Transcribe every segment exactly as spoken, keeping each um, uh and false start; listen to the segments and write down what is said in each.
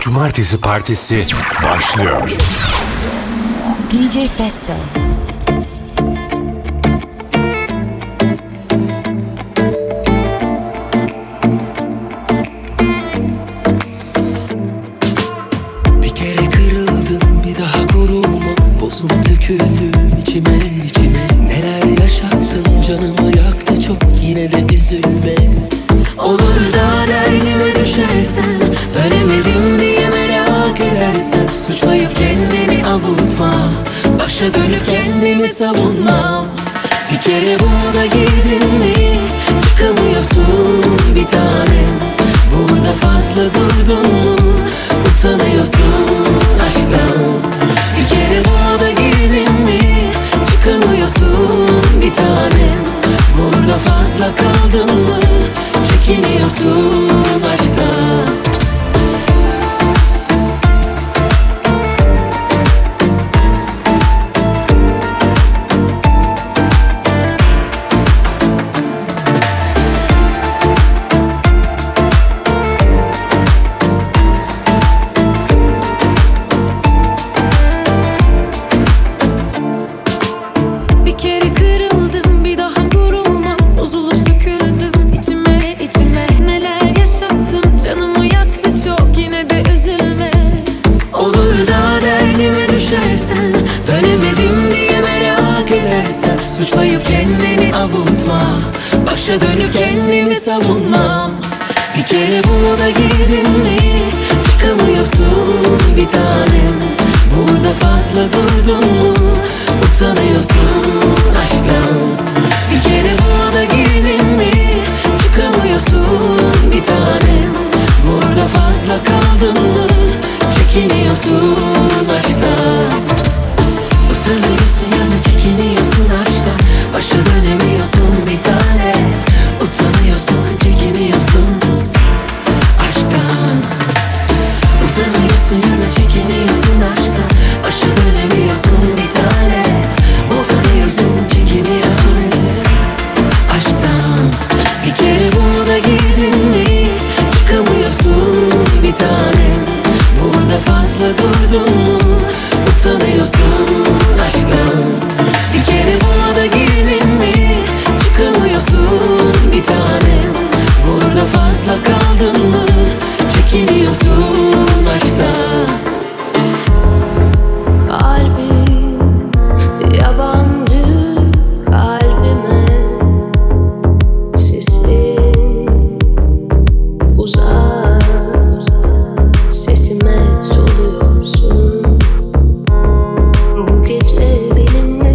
Cumartesi Partisi başlıyor. D J Festo. Bir kere kırıldım, bir daha koruma. Bozulup döküldüm içime içime. Neler yaşattın, canımı yaktı çok, yine de üzülme. Olur da derdime düşersen, dönemedim diye merak edersen, suçlayıp kendini avutma, başa dönüp kendimi savunmam. Bir kere buna girdin mi, çıkamıyorsun bir tanem. Burada fazla durdun mu, utanıyorsun aşktan. Bir kere buna girdin mi, çıkamıyorsun bir tanem. Burada fazla kaldın mı, çekiniyorsun aşktan. Suçlayıp kendini avutma, başa dönüp kendimi savunmam. Bir kere buna girdin mi, çıkamıyorsun bir tanem. Burada fazla durdun mu, utanıyorsun aşktan. Bir kere buna girdin mi, çıkamıyorsun bir tanem. Burada fazla kaldın mı, çekiniyorsun aşktan. Utanıyorsun ya da çekiniyorsun aşktan. Başa dönemiyorsun bir tane. Utanıyorsun, çekiniyorsun aşktan. Utanıyorsun ya da çekiniyorsun aşktan. Başa dönemiyorsun bir tane. Utanıyorsun, çekiniyorsun aşktan. Bir kere buna girdin mi, çıkamıyorsun bir tane. Burada fazla durdun mu, utanıyorsun aşktan. Bir kere buna girdin mi, çıkamıyorsun bir tanem. Burada fazla kaldın mı, çekiniyorsun aşktan. Kalbim yabancı kalbime, sesin uzak, sesime soluyorsun. Bu gece benimle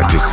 Partisi.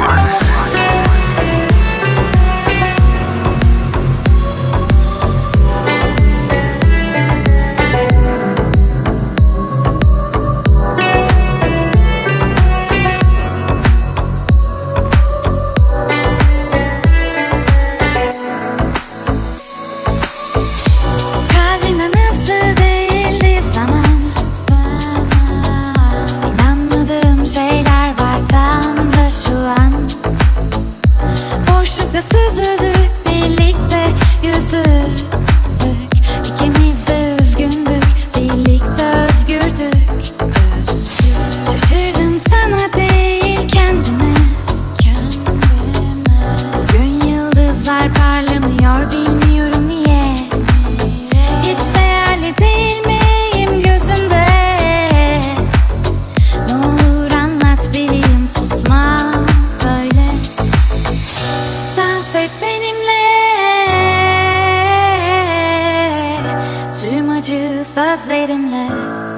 Sözlerimle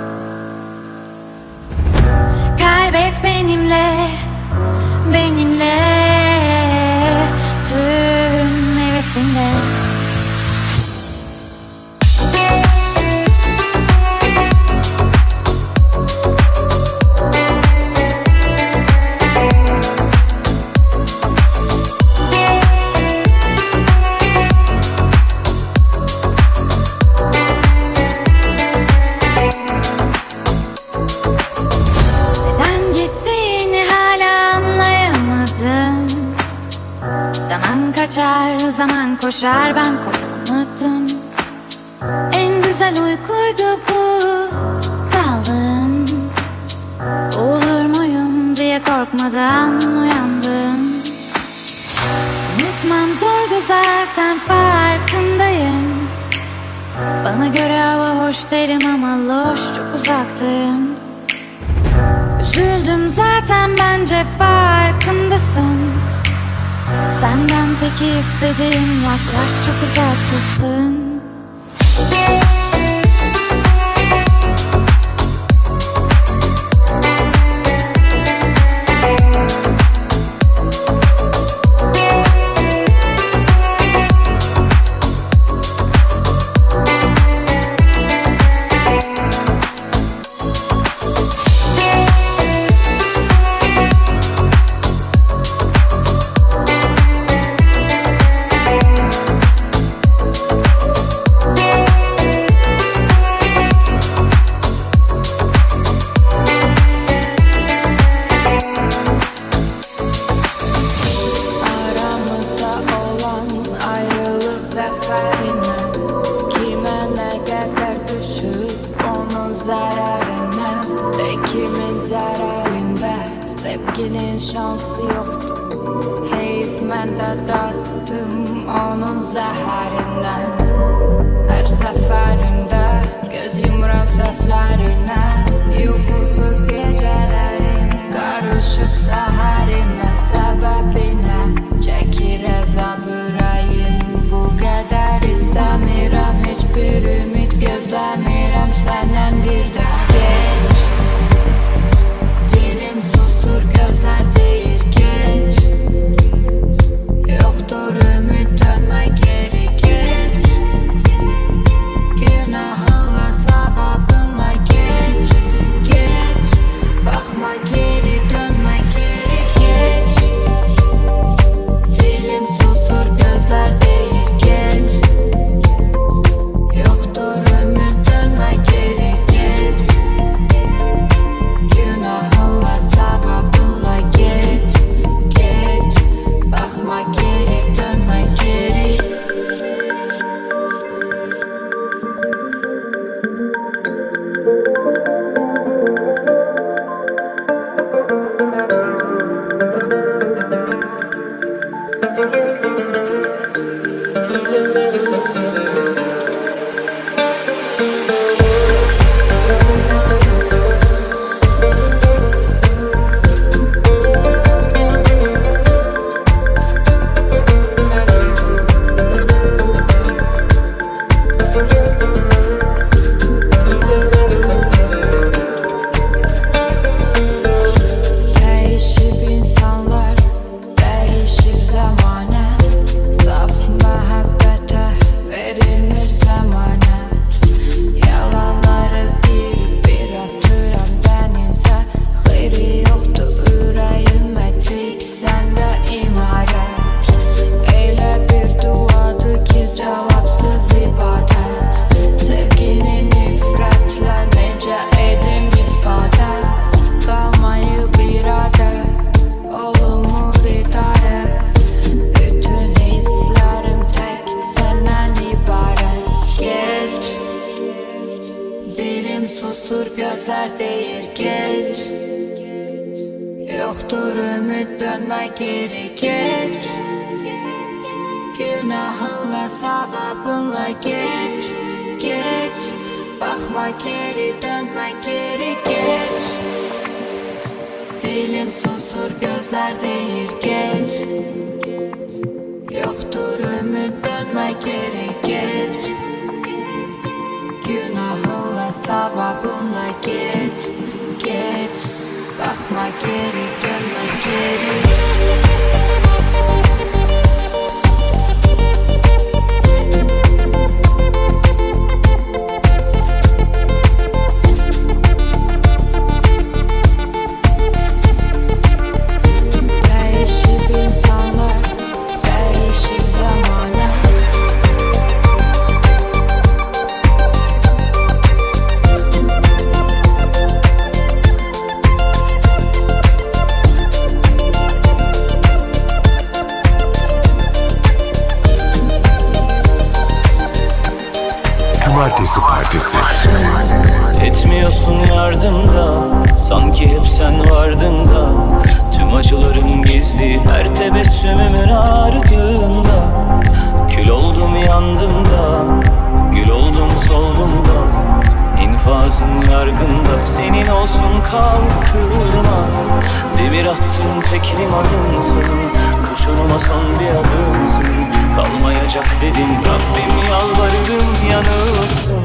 kaybet benimle, benimle tüm hevesinle. Kaçar, zaman koşar, ben korkmadım. En güzel uykuydu bu, daldım. Olur muyum diye korkmadan uyandım. Unutmam zordu zaten, farkındayım. Bana göre hava hoş derim ama loş, çok uzaktım. Üzüldüm zaten, bence farkındasın. Senden tek istediğim yaklaş, çok uzaktasın. İkimiz halinde sevginin şansı yoktu. Heyif mən də dattım onun zəhərindən. Hər səfərində göz yumuram səhvlərinə. Yuxusuz gecələrim qarışıq səhərimə. Səbəbinə çəkir əzab ürəyim. Bu qədər istəmirəm, heç bir ümid gözləmirəm səndən bir də. Geç, dilim susur, gözlər deyir geç. Yoxdur ümid, dönmə geri geç. Günahınla, savabınla geç, geç. Baxma Yoktur ümit dönme geri geç. Günahınla sevabınla geç. Geç. Bakma geri dönme geri geç. Dilim susur gözler deyir geç. Yoktur ümit dönme geri geç. Günahınla sevabınla geç. Geç. Bakma geri dönme geri. Değişir insanlar, değişir zamanı. Cumartesi Partisi. Etmiyorsun yardımda, sanki hep sen vardın da. Tüm acılarım gizli, her tebessümümün ardında. Kül oldum yandım da, gül oldum soldum da. İnfazın yargında, senin olsun kalkırma. Demir attığın tek limanımsın, uçuruma son bir adımsın. Kalmayacak dedim Rabbim, yalvarırım yanılsın.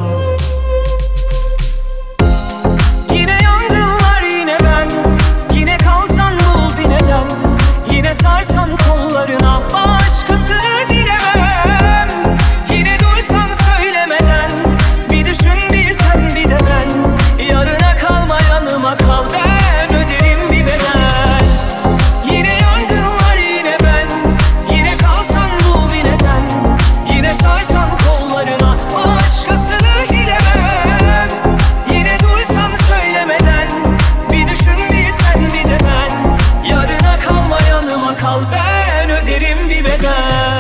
Yine yangınlar yine ben, yine kalsan bul bir neden. Yine sarsan kollarına, başkasını dilemem. Yine duysan söylemeden, bir düşün bir sen bir de ben. Yarına kalma yanıma kal, ben öderim bir bedel. Yine yangınlar yine ben, yine kalsan bul bir neden. Yine sarsan kollarına, başkasını dilemem. Yine duysan söylemeden, bir düşün bir sen bir de ben. Yarına kalma yanıma kal, ben öderim bir bedel.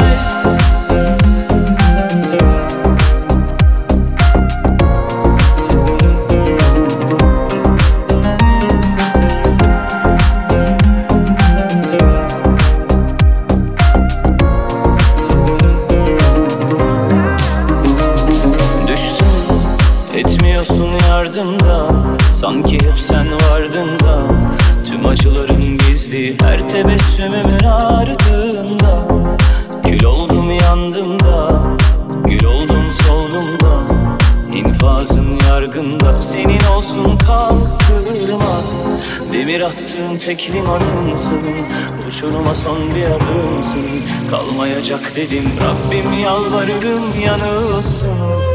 Düştüm, etmiyorsun yardımda, sanki hep sen vardın da. Tüm acılarım gizli, her tebessümümün ardında. Kül oldum yandım da, gül oldum soldum da. İnfazın yargında, senin olsun kalkırma. Demir attığın tek limanımsın, uçuruma son bir adımsın. Kalmayacak dedim Rabbim, yalvarırım yanılsın.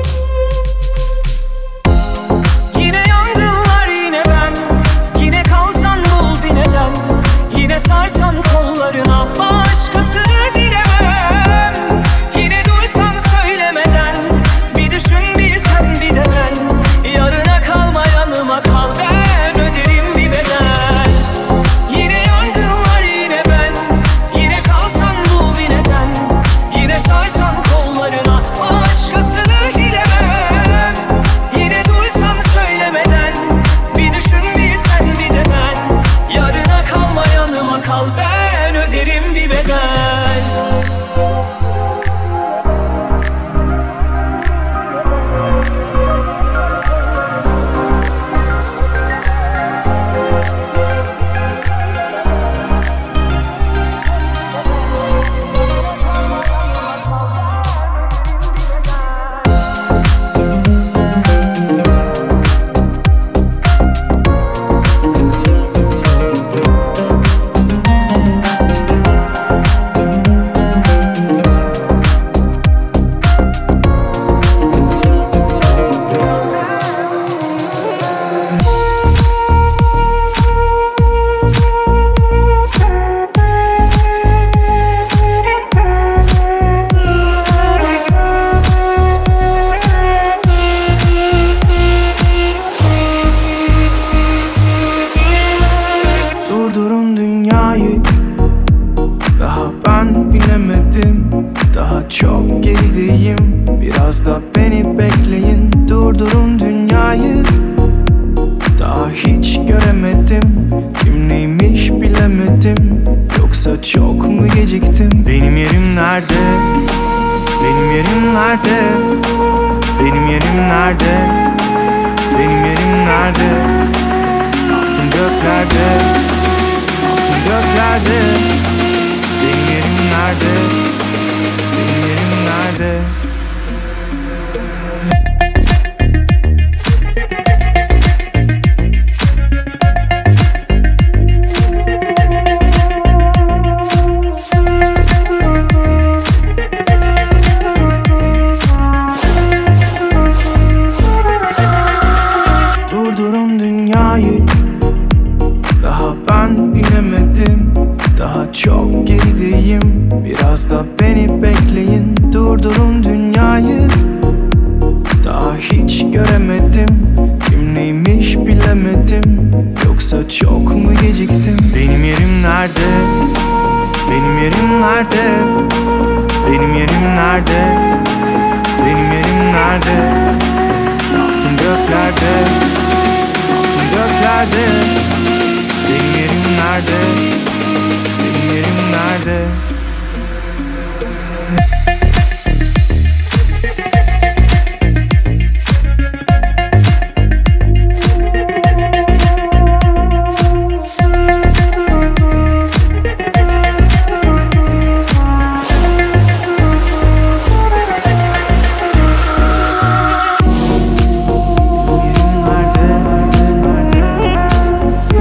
Yine yangınlar yine ben, yine kalsan bul bir neden. Yine sarsan kollarına, başkasını dilemem. Yine duysan söylemeden, bir düşün bir sen bir de ben. Yarına kalma yanıma kal, ben öderim bir bedel. Yine yangınlar yine ben, yine kalsan bul bir neden. Yine sarsan kollarına, başkasını dilemem. Yoksa çok mu geciktim? Benim yerim nerede? Benim yerim nerede? Benim yerim nerede? Benim yerim nerede? Aklım göklerde, aklım göklerde. Benim yerim nerede? Benim yerim nerede? Durdurun dünyayı, daha ben binemedim. Daha çok gerideyim, biraz da beni bekleyin. Durdurun dünyayı, daha hiç göremedim. Kim neymiş bilemedim. Yoksa çok mu geciktim? Benim yerim nerede? Benim yerim nerede? Benim yerim nerede? Benim yerim nerede? Aklım göklerde, aklım göklerde. Benim yerim nerede? Benim yerim nerede? Yerim nerede?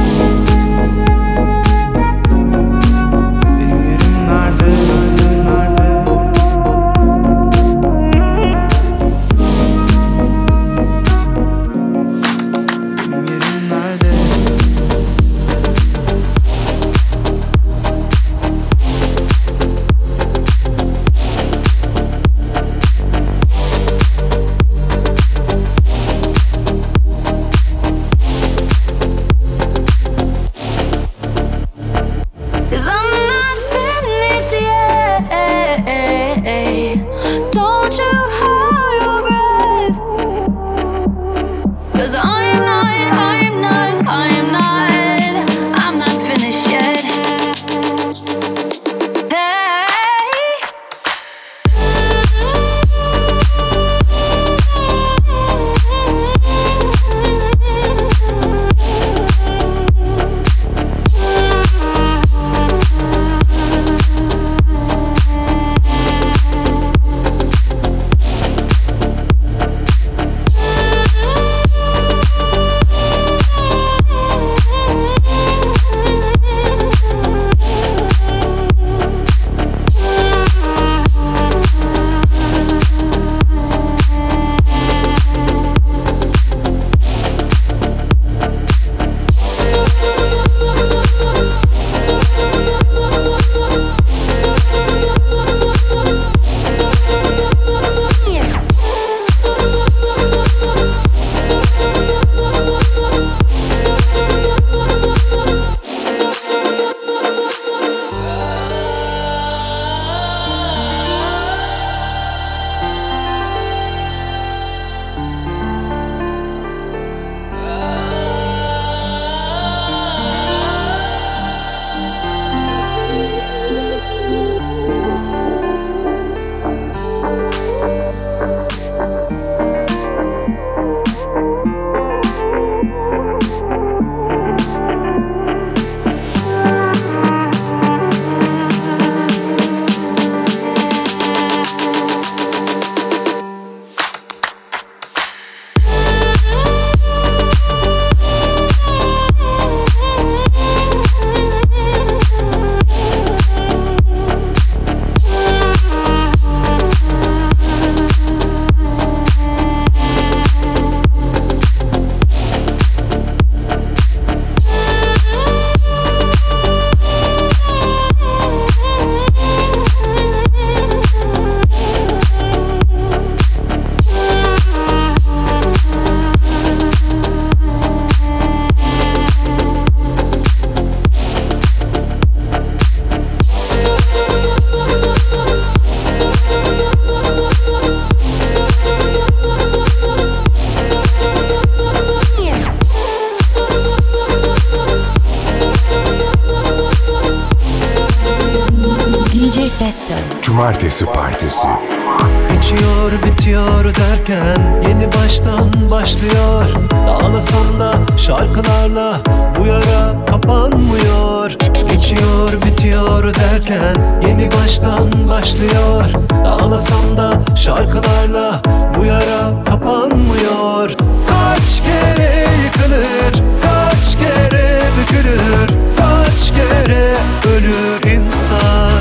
Festo. Cumartesi Partisi. Geçiyor bitiyor derken yeni baştan başlıyor. Dağlasam da şarkılarla bu yara kapanmıyor. Geçiyor bitiyor derken yeni baştan başlıyor. Dağlasam da şarkılarla bu yara kapanmıyor. Kaç kere yıkılır, kaç kere bükülür, kaç kere ölür insan.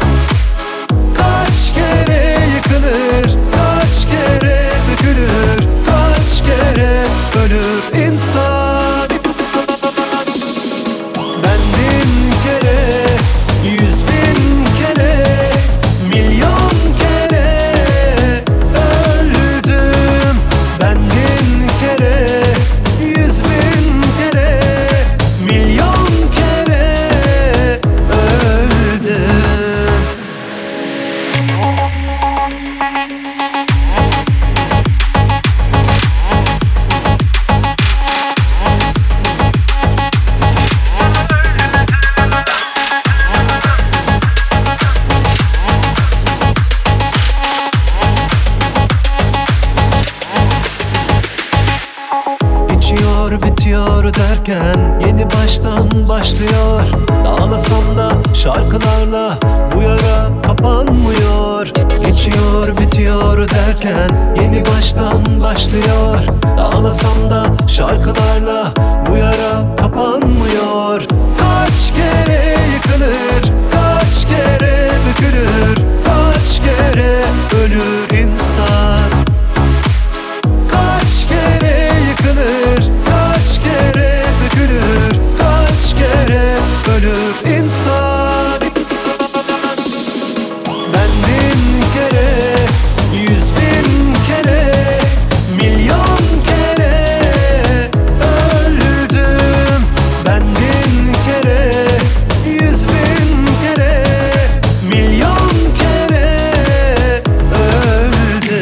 Kaç kere yıkılır, kaç kere bükülür, kaç kere ölür insan. Ben bin kere, yüz bin kere, milyon kere öldüm. Ben bin kere, yüz bin kere, milyon kere öldüm. Geçiyor bitiyor derken yeni baştan başlıyor. Dağlasam da şarkılarla bu yara kapanmıyor. Geçiyor bitiyor derken yeni baştan başlıyor. Dağlasam da şarkılarla bu yara kapanmıyor. Kaç kere yıkılır, kaç kere bükülür, kaç kere ölür insan. Kaç kere yıkılır, kaç kere bükülür, kaç kere ölür insan. Ben bin kere, yüz bin kere, milyon kere öldüm. Ben bin kere, yüz bin kere, milyon kere öldüm.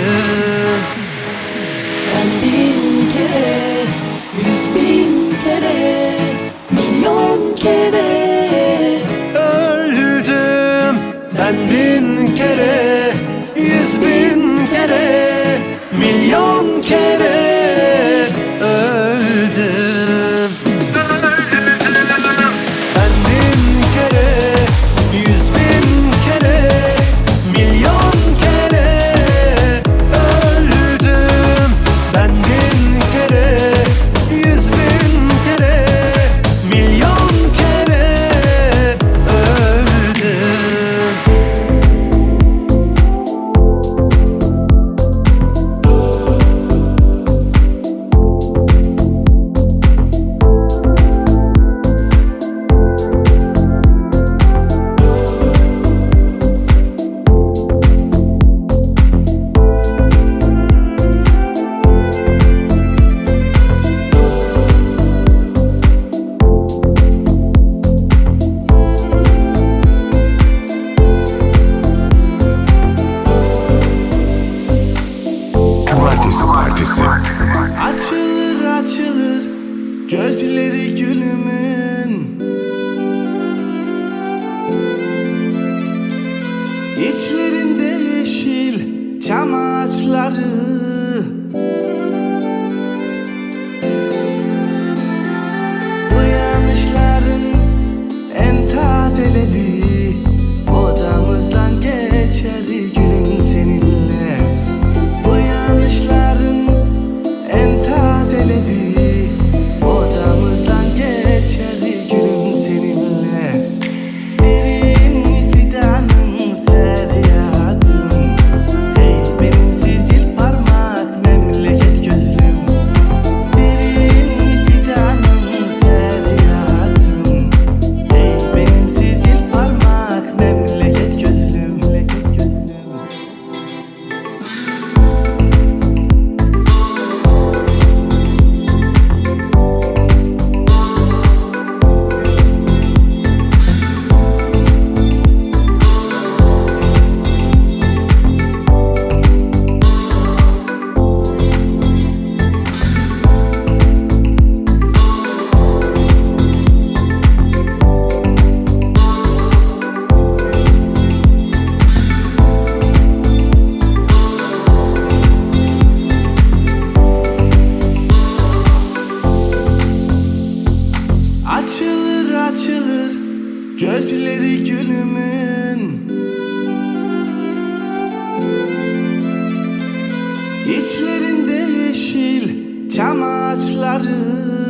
Ben bin kere, yüz bin kere, milyon kere Öldüm. Ben bin kere, yüz bin kere, milyon kere öldüm. Ben bin kere, yüz bin kere, milyon kere öldüm. Ben bin kere, yüz bin kere, milyon kere öldüm. Cumartesi Partisi. Açılır açılır gözleri gülümün, İçlerinde yeşil çam ağaçları. Uyanışların en tazeleri odamızdan geçer gülüm seninle. Uyanışların en tazeleri odamızdan geçer gülüm seninle. Derin fidanın feryadım, hey benim zil parmağım. açılır gözleri gülümün. İçlerinde yeşil çam ağaçları,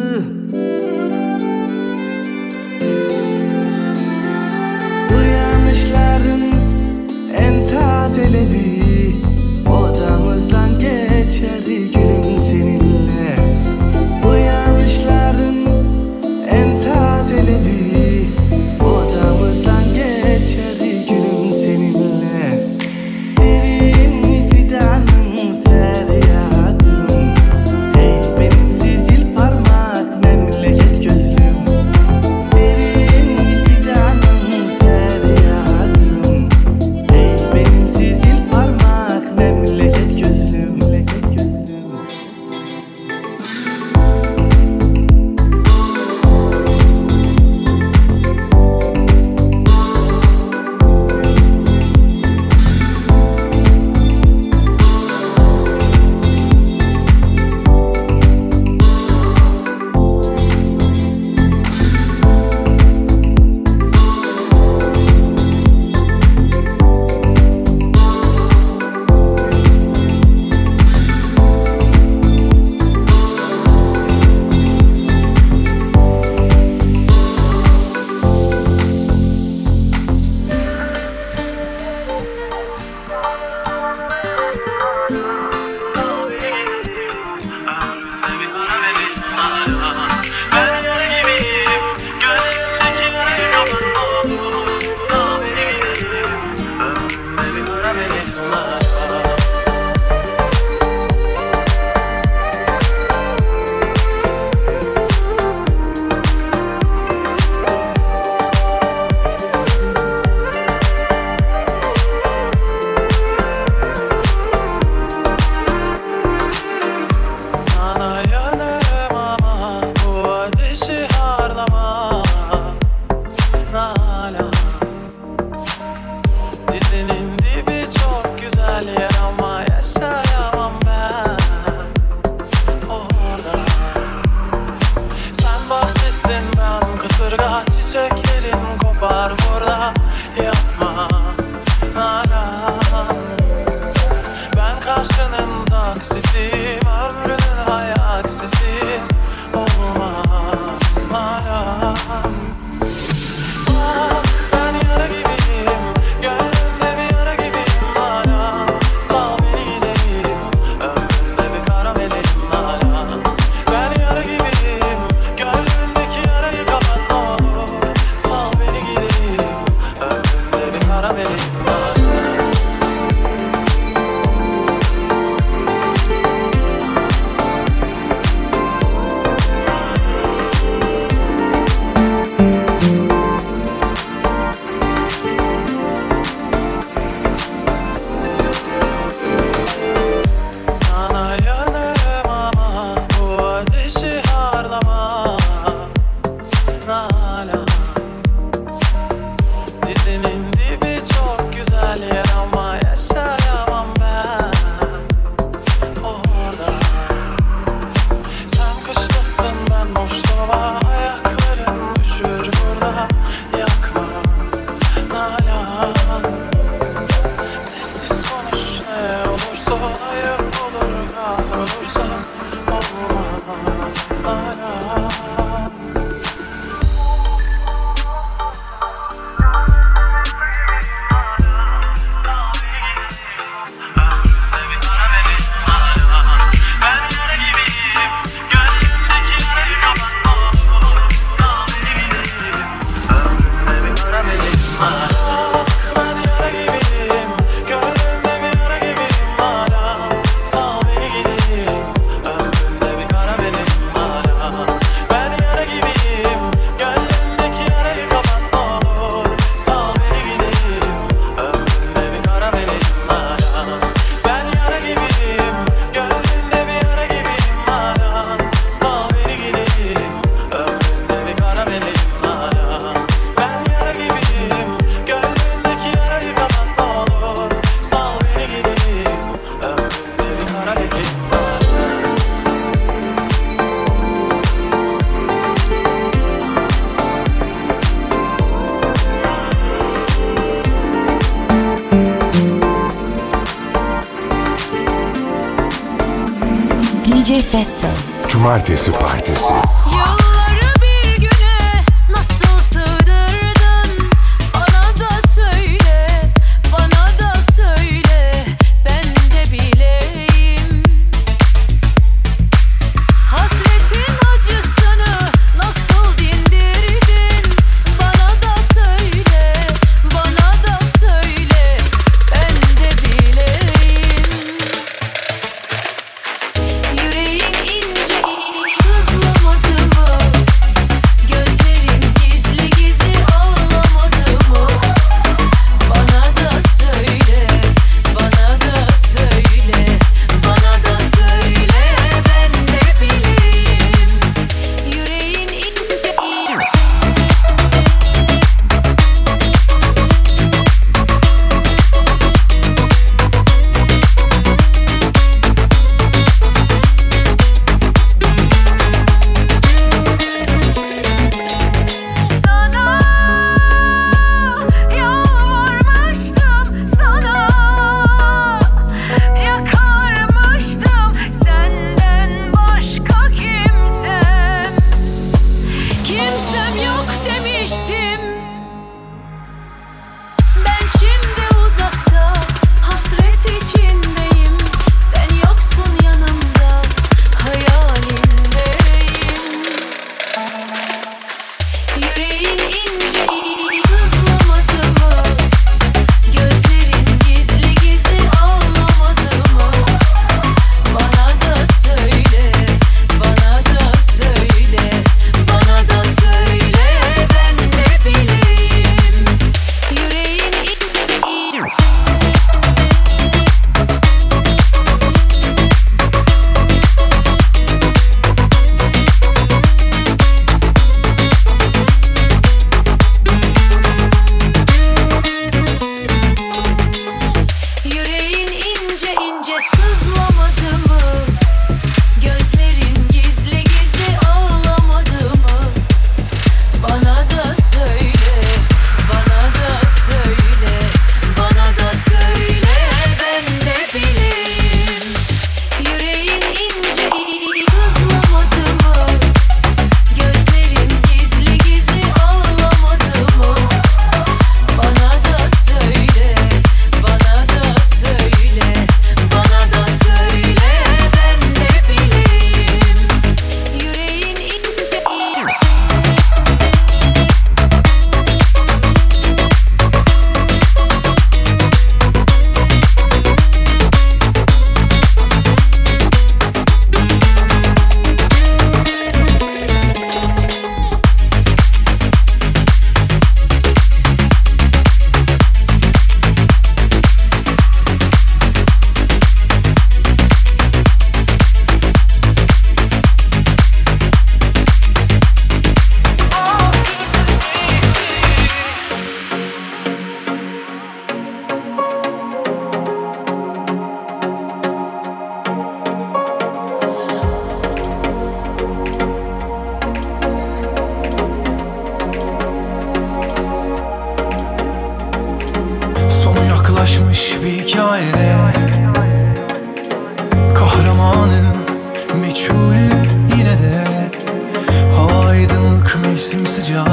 uyanışların en tazeleri odamızdan geçer gülüm seninle. Uyanışların en tazeleri odamızdan geçer gülüm seninle. Derin fidanın feryadım, hey benim zil parmak memleket gözlüm. Derin fidanın feryadım, hey benim zil parmak memleket gözlüm. J Festo. Cumartesi Partisi. Yılları bir güne nasıl sığdırdın? Bana da söyle, bana da söyle, ben de bileyim. Hasretin acısını nasıl dindirdin? Bana da söyle, bana da söyle, ben de bileyim. Yüreğin ince sızlamadı mı? Gözlerin gizli gizli ağlamadı mı? Bana da söyle, bana da söyle, bana da söyle, ben de bileyim. Yüreğin ince sana yalvarmıştım, sana yakarmıştım, senden başka kimsem, kimsem yok demiştim. Ben şimdi uzakta hasret içindeyim, sen yoksun yanımda hayalindeyim. Yüreğin ince sızlamadı mı? Gözlerin gizli gizli ağlamadı mı? Bana da söyle, bana da söyle, bana da söyle, ben de bileyim. Yüreğin ince Yüreğin ince ince sızlamadı mı? Gözlerin gizli gizli ağlamadı mı? Bana da söyle, bana da söyle, bana da söyle, ben de bileyim. Yüreğin ince sızlamadı mı? Gözlerin gizli gizli ağlamadı mı? Bana da söyle, bana da söyle, bana da söyle, ben de bileyim. Yüreğin ince Sonu yaklaşmış bir hikaye, kahramanı meçhul yine de. Hava aydınlık, mevsim sıcak,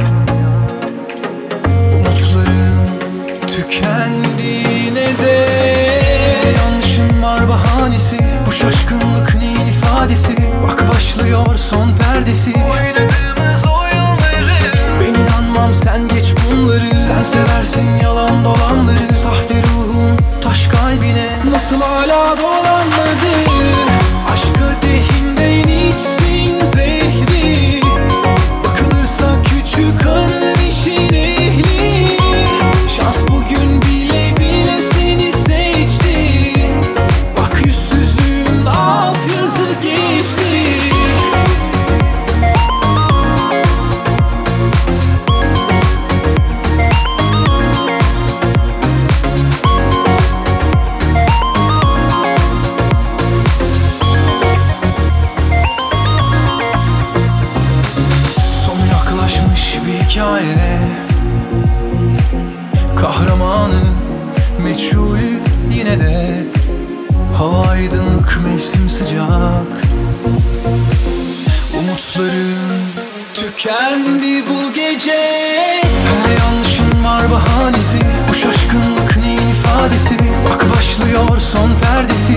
umutlarım tükendi yine de. Yanlışım var bahanesi, bu şaşkınlık neyin ifadesi? Bak başlıyor son perdesi, oynadığımız oyunları. Ben inanmam, sen geç bunları. Sen seversin yalan dolanları. Sahte ruhum taş kalbine nasıl hala dolanmadı? Aşk kadehimden içsin zehri, bakılırsa küçük hanım işin ehli. Şans bugün bile bile seni seçti. Bak yüzsüzlüğün alt yazı geçti. hikaye, kahramanı meçhul yine de. Hava aydınlık, mevsim sıcak. Umutlarım tükendi bu gece. Her yanlışın var bahanesi. Bu şaşkınlık neyin ifadesi? Bak başlıyor son perdesi.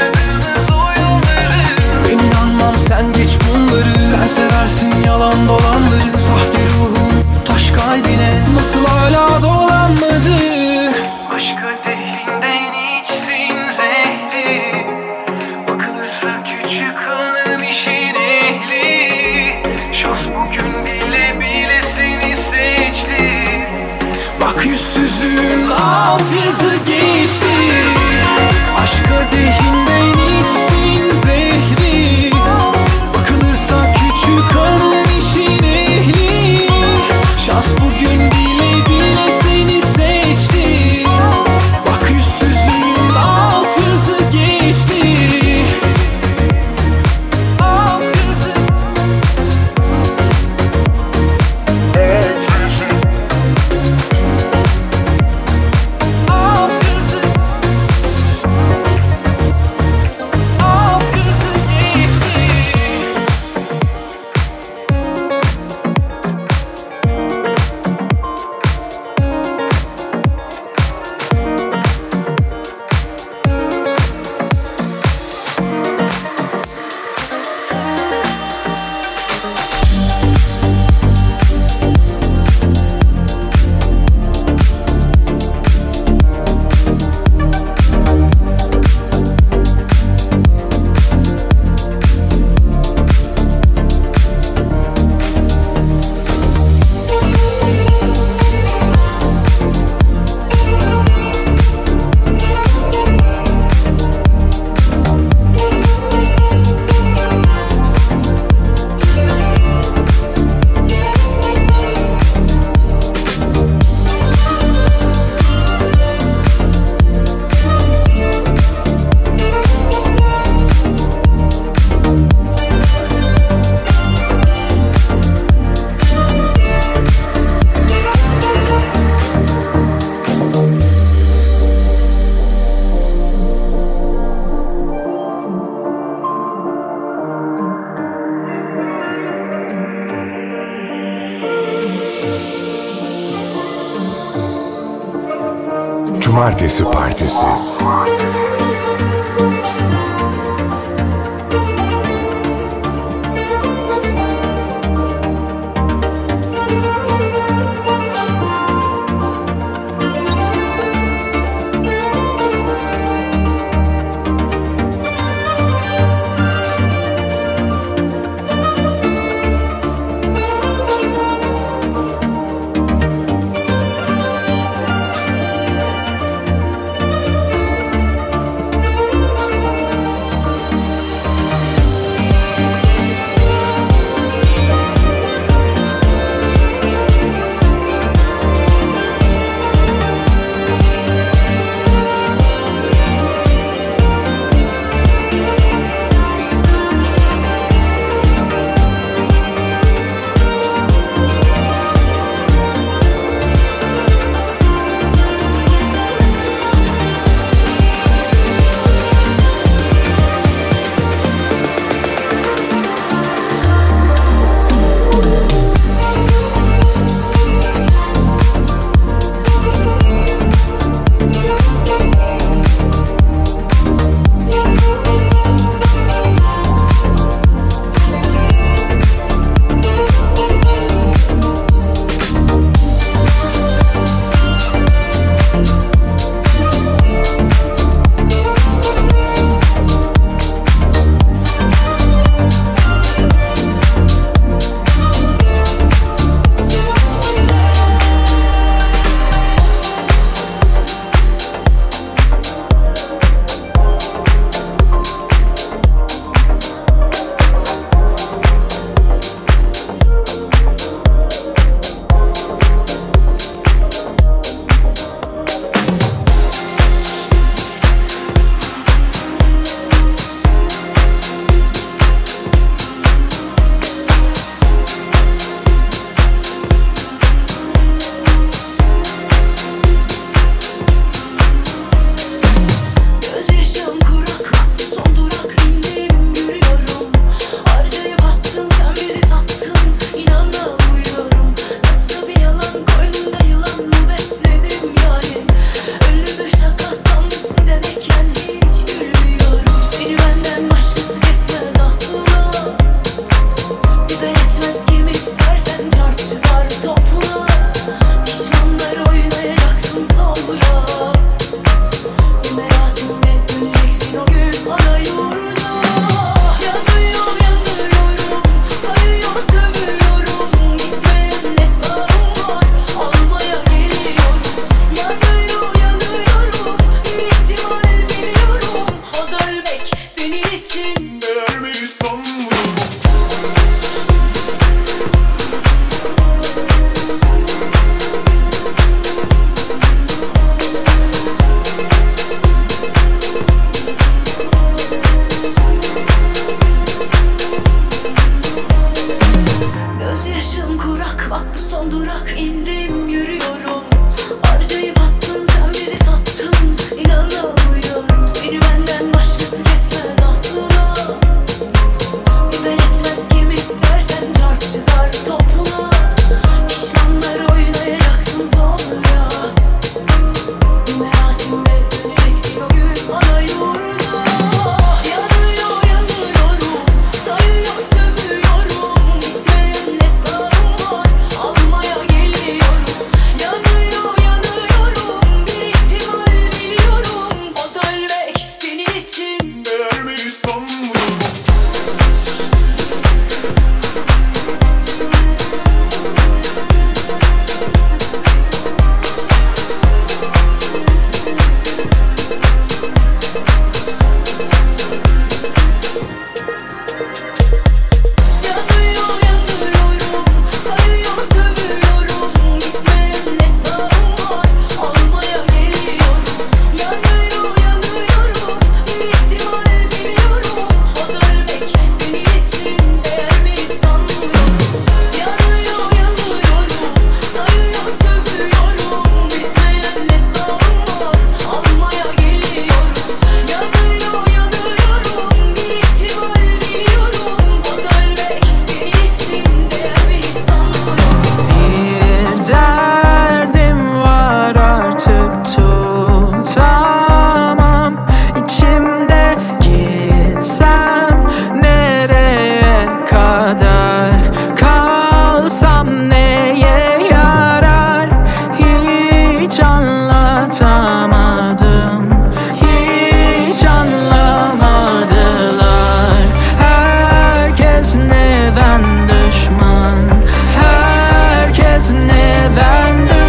Ben inanmam, sen geç bunları. Sen seversin yalan dolanları. Sahte ruhum taş kalbine nasıl hala dolanmadı? Aşk kadehinden içsin zehri. Bakılırsa küçük hanım işin ehli. Şans bugün bile bile seni seçti. Bak yüzsüzlüğün alt yazı geçti. Aşk kadehinden içsin zehri. Bakılırsa küçük hanım işin ehli. Şans bugün bile bile seni seçti. Bak yüzsüzlüğün alt yazı geçti. Alt yazı. Alt yazı. Alt yazı geçti. Cumartesi Partisi.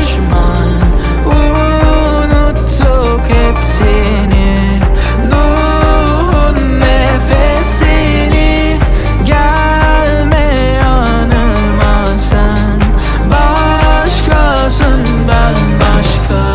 düşman. Unuttuk hepsini, Nuh'un nefesini. Gelme yanıma sen, başkasın ben başka.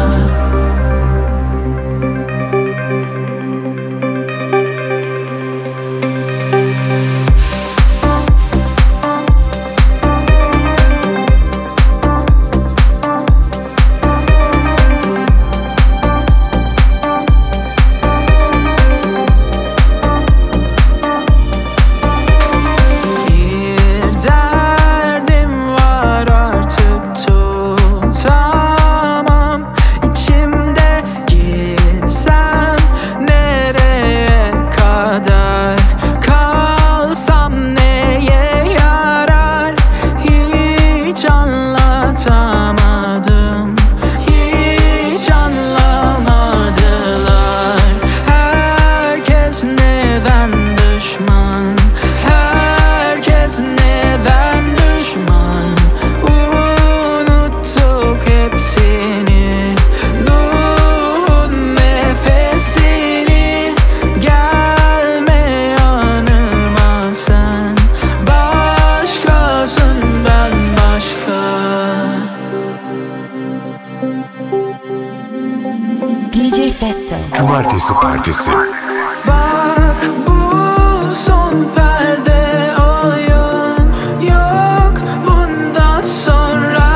D J Festo. Cumartesi Partisi. Bak bu son perde, oyun yok bundan sonra.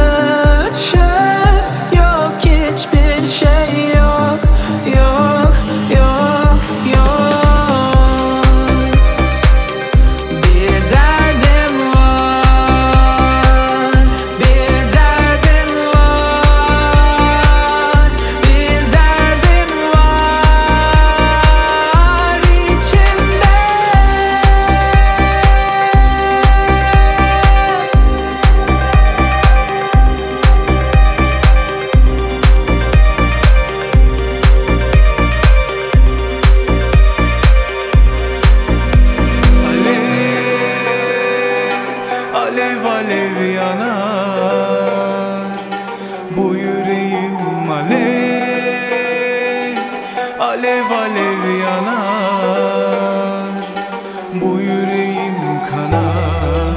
Işık yok, hiçbir şey yok. Yok, yok, yok. Bir derdim var, bir derdim var, bir derdim var içimde. Alev alev yanar bu yüreğim, alev alev alev yanar bu yüreğim kanar.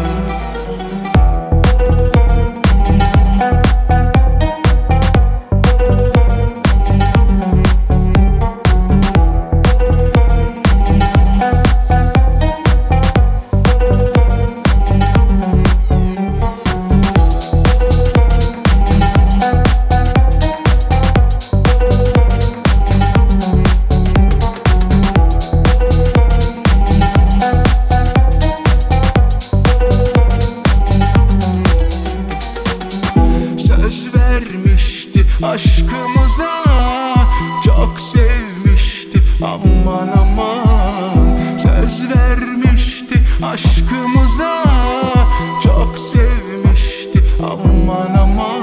Söz vermişti aşkımıza, çok sevmişti aman aman. Söz vermişti aşkımıza, çok sevmişti aman aman.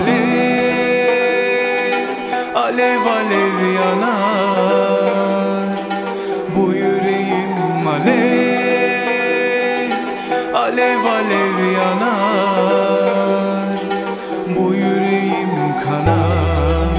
Alev alev alev yanar bu yüreğim, alev alev alev yanar bu yüreğim kanar.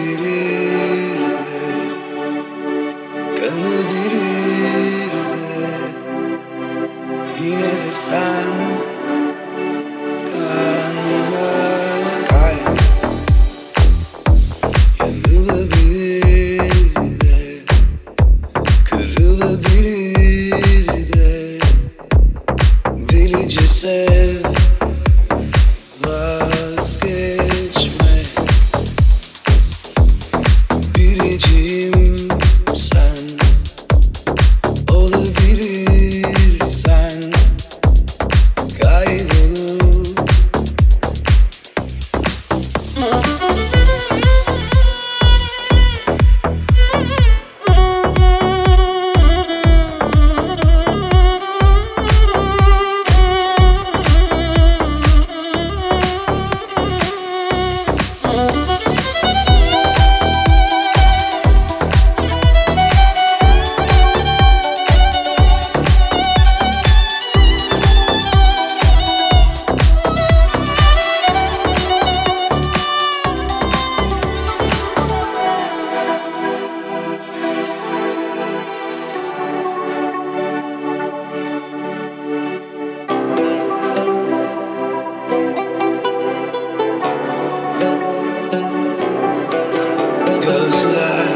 görebilir de, kanabilir de, yine de sen kanma. Kalp yanılabilir de, kırılabilir de, delice sev, vazgeçme. Biricim sen olabilirsen, kaybolup gözler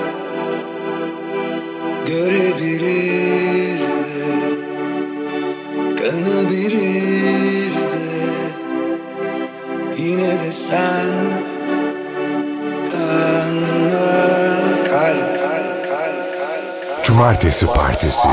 görebilir de, kanabilir de, yine de sen kanma. Kalp Cumartesi Partisi.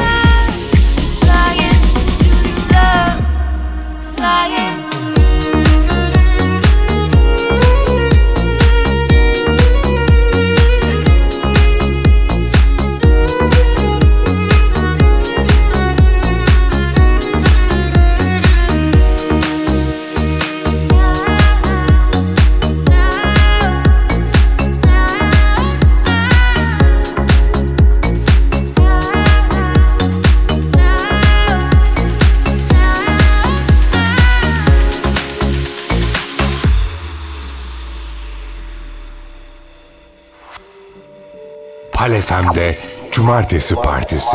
Flying Zuhal F M'de Cumartesi Partisi.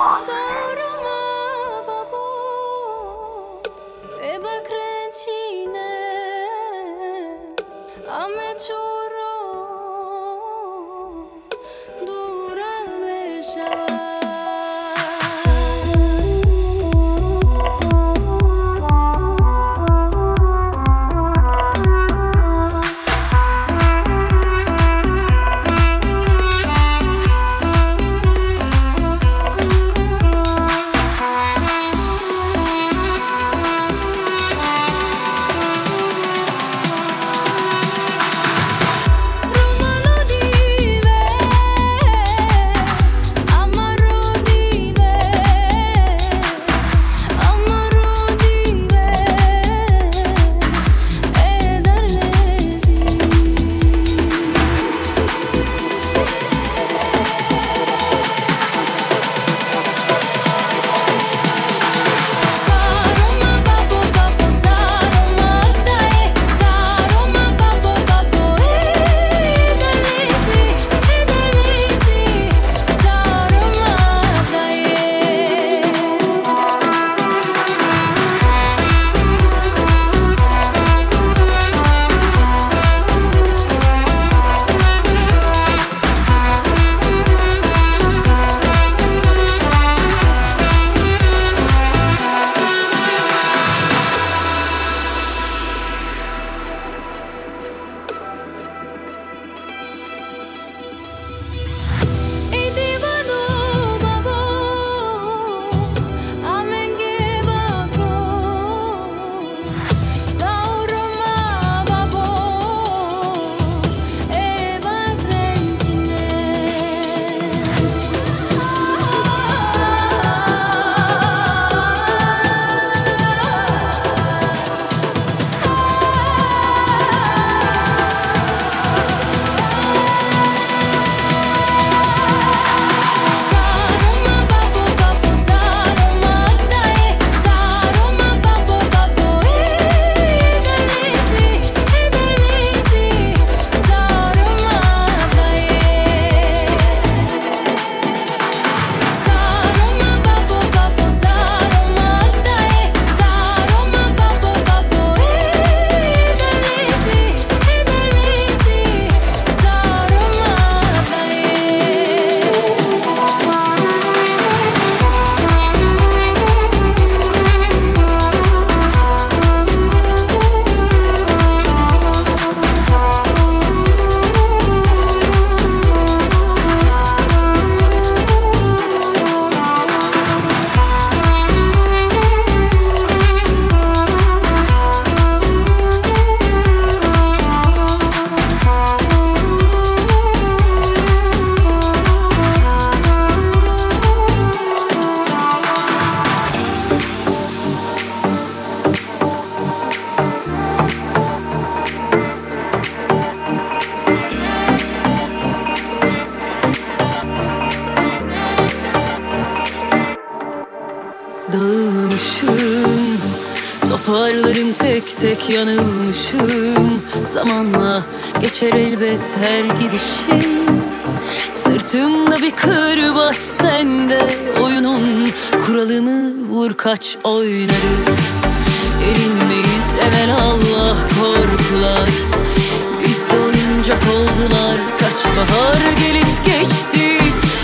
Dağılmışım, toparlarım tek tek yanılmışım. Zamanla geçer elbet her gidişim. Sırtımda bir kırbaç sende, oyunun kuralını vur kaç oynarız. Erinmeyiz evelallah korkular, bizde oyuncak oldular. Kaç bahar gelip geçti,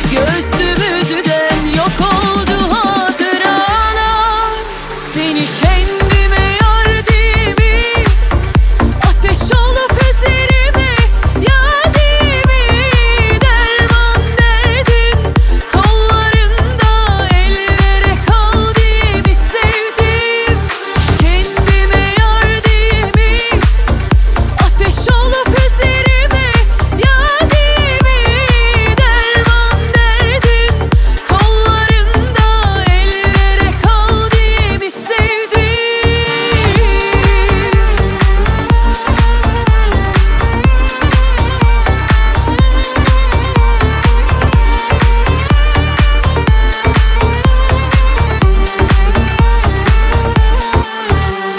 göğsümüzden yok oldu hatıralar. Seni kendime yar dimi, ateş olup üzerime yadimi. Derman derdin kollarında, ellere kaldığımı sevdim. Kendime yar dimi, ateş olup üzerime yadimi. Derman derdin kollarında, ellere kaldığımı sevdim.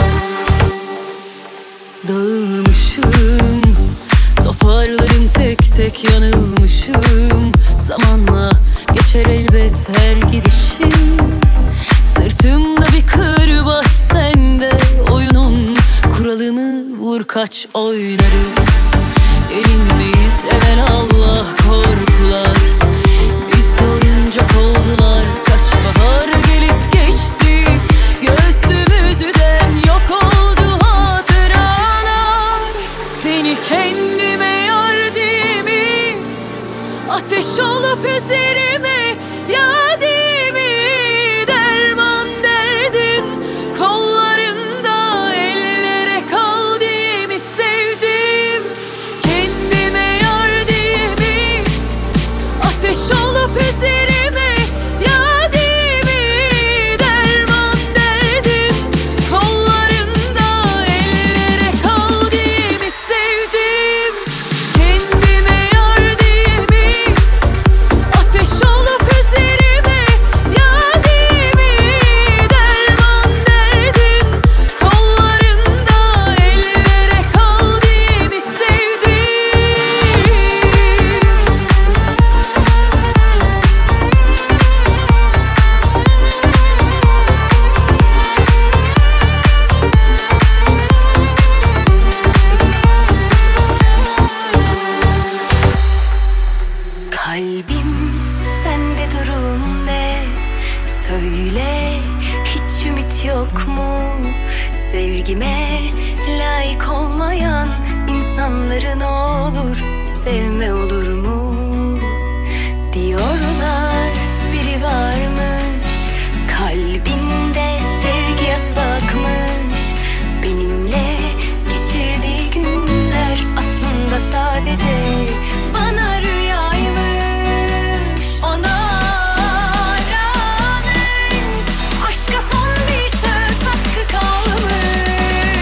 Dağılmışım, toparlarım tek tek yanılmışım. Zamanla geçer elbet her gidişim. Sırtımda bir kırbaç, sende oyunun kuralını vur kaç oynarız. Erinmeyiz evelallah korkular, bizde oyuncak oldular. Kaç bahar gelip geçti, göğsümüzden yok oldu hatıralar. Seni kendime yar diye mi, ateş olup üzerime yadi mi? Derman derdin kollarında, ellere kal diye mi sevdim? Kendime yar diye mi, ateş olup üzerime yadi mi? Derman derdin kollarında, ellere kal diye mi sevdim? Kendime yar diye mi, ateş olup üzerime yadi mi? Derman derdin kollarında, ellere kal diye mi sevdim? Kalbim sende durum ne? Söyle, hiç ümit yok mu? Sevgime layık olmayan insanları ne olur sevme olur mu? Diyorlar biri varmış, kalbinde sevgi yasakmış. Benimle geçirdiği günler aslında sadece bana rüyaymış. Ona rağmen aşka son bir söz hakkı kalmış.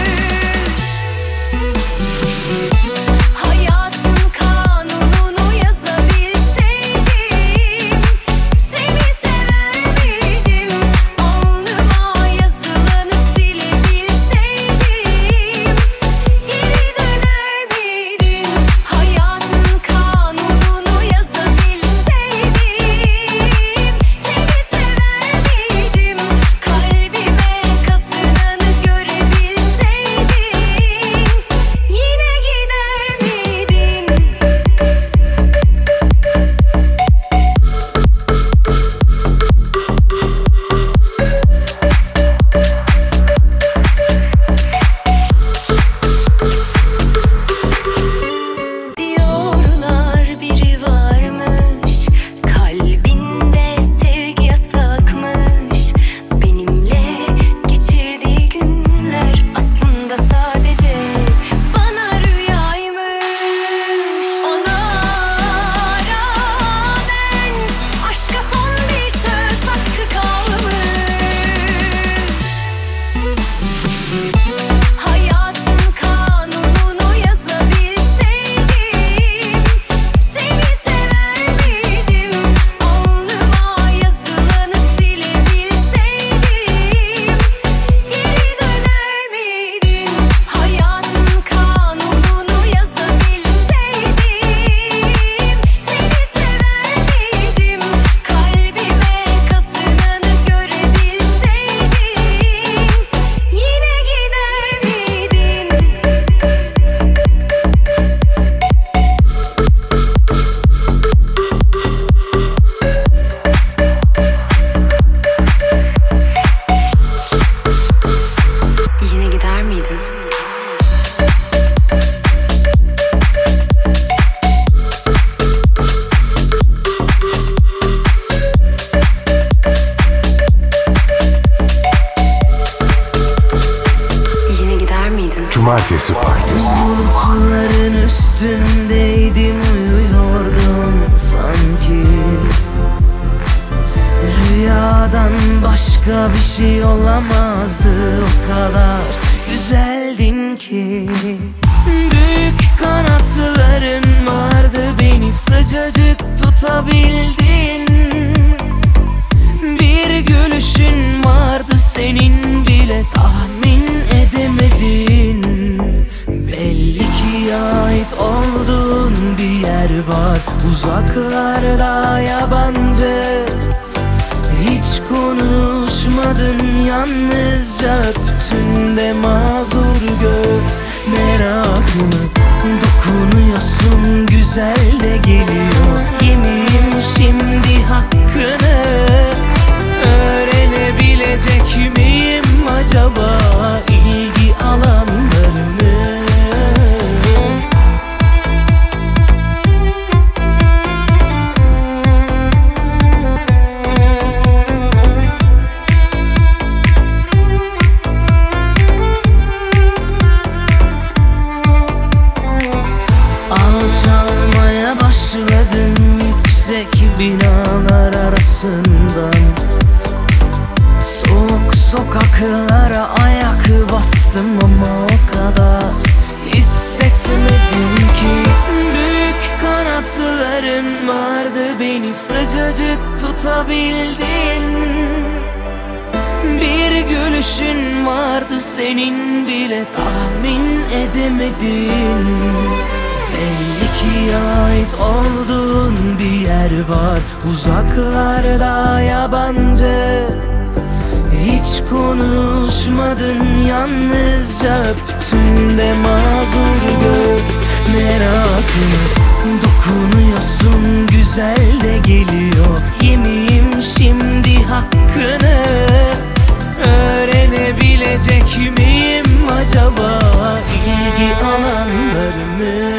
Hayatın kanununu yazabilseydim, seni sever miydim? Alnıma yazılanı silebilseydim, geri döner miydin? Hayatın kanununu yazabilseydim, seni sever miydim? Kalbime kazınanı görebilseydim, yine gider miydin? Diyorlar biri varmış, kalbinde sevgi yasakmış. Benimle geçirdiği günler aslında sadece bana rüyaymış. Ona rağmen aşka son bir söz hakkı kalmış. Hayatın kanununu yazabilseydim, seni sever miydim? Alnıma yazılanı silebilseydim, geri döner miydin? Hayatın kanununu yazabilseydim, seni sever miydim? Kalbime kazınanı görebilseydim, yine gider miydin? Yine gider miydin? Yine gider miydin? Cumartesi Partisi. Bulutların üstündeydim, uyuyordum sanki. Rüyadan başka bir şey olamazdı, o kadar güzeldin ki. Büyük kanatların vardı, beni sıcacık tutabildin. Bir gülüşün vardı senin, bile tahmin edemedin. Belli ki ait olduğun bir yer var uzaklarda yabancı. Hiç konuşmadın, yalnızca öptün de mazur gör merakını. Dokunuyorsun, güzel de geliyor. Yemeyeyim şimdi hakkını. Öğrenebilecek miyim acaba ilgi alanlarını? Alçalmaya başladım yüksek binalar arasından. Soğuk sokaklara ayak bastım ama o kadar hissetmedim ki. Büyük kanatların vardı, beni sıcacık tutabildin. Bir gülüşün vardı, senin bile tahmin edemedin. Belli ki ait olduğun bir yer var uzaklarda yabancı. Hiç konuşmadın, yalnızca öptün de mazur gör merakını. Dokunuyorsun, güzel de geliyor. Yemeyeyim şimdi hakkını. Öğrenebilecek miyim acaba ilgi alanlarını?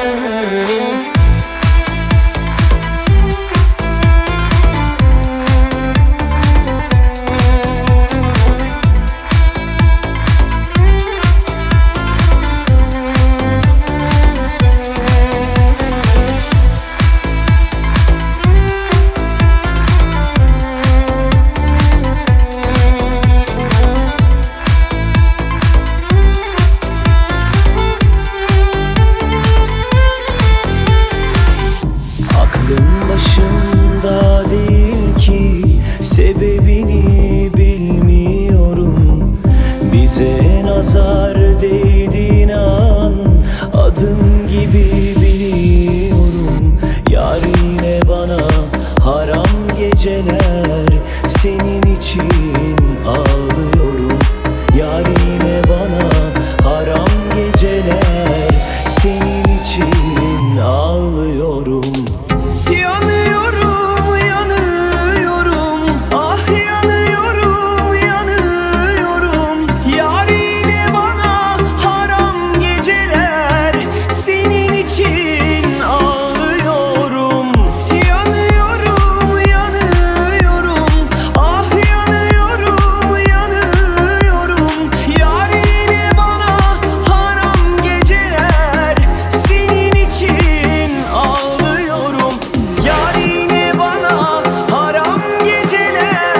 Başımda değil ki, sebebini bilmiyorum. Bize nazar değdiğin an adım gibi biliyorum. Yar yine bana haram geceler, senin için ağlıyorum. Yar yine bana haram geceler, senin için ağlıyorum. Yanıyorum, yanıyorum, ah yanıyorum, yanıyorum. Yar yine bana haram geceler, senin için ağlıyorum. Yanıyorum, yanıyorum, ah yanıyorum, yanıyorum. Yar yine bana haram geceler, senin için ağlıyorum. Yar yine bana haram geceler,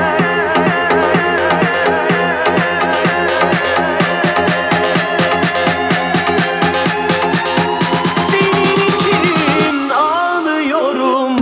senin için ağlıyorum.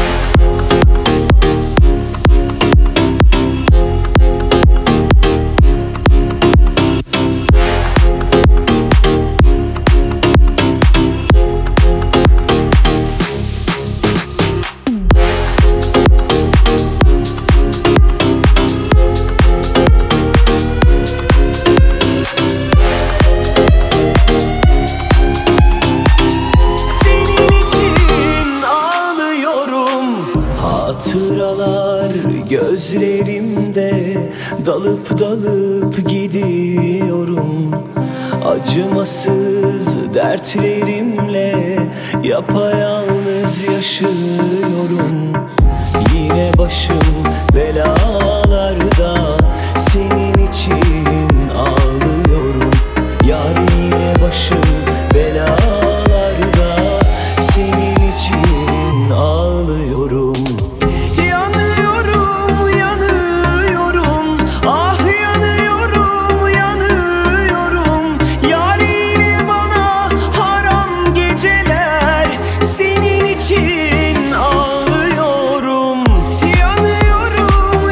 Senin için ağlıyorum. Hatıralar gözlerimde, dalıp dalıp gidiyorum. Acımasız dertlerimle yapayalnız yaşıyorum. Yine başım belalarda, senin için ağlıyorum. Yar yine başım belalarda, senin için ağlıyorum. Yanıyorum, yanıyorum, ah yanıyorum, yanıyorum. Yar yine bana haram geceler, senin için ağlıyorum. Yanıyorum,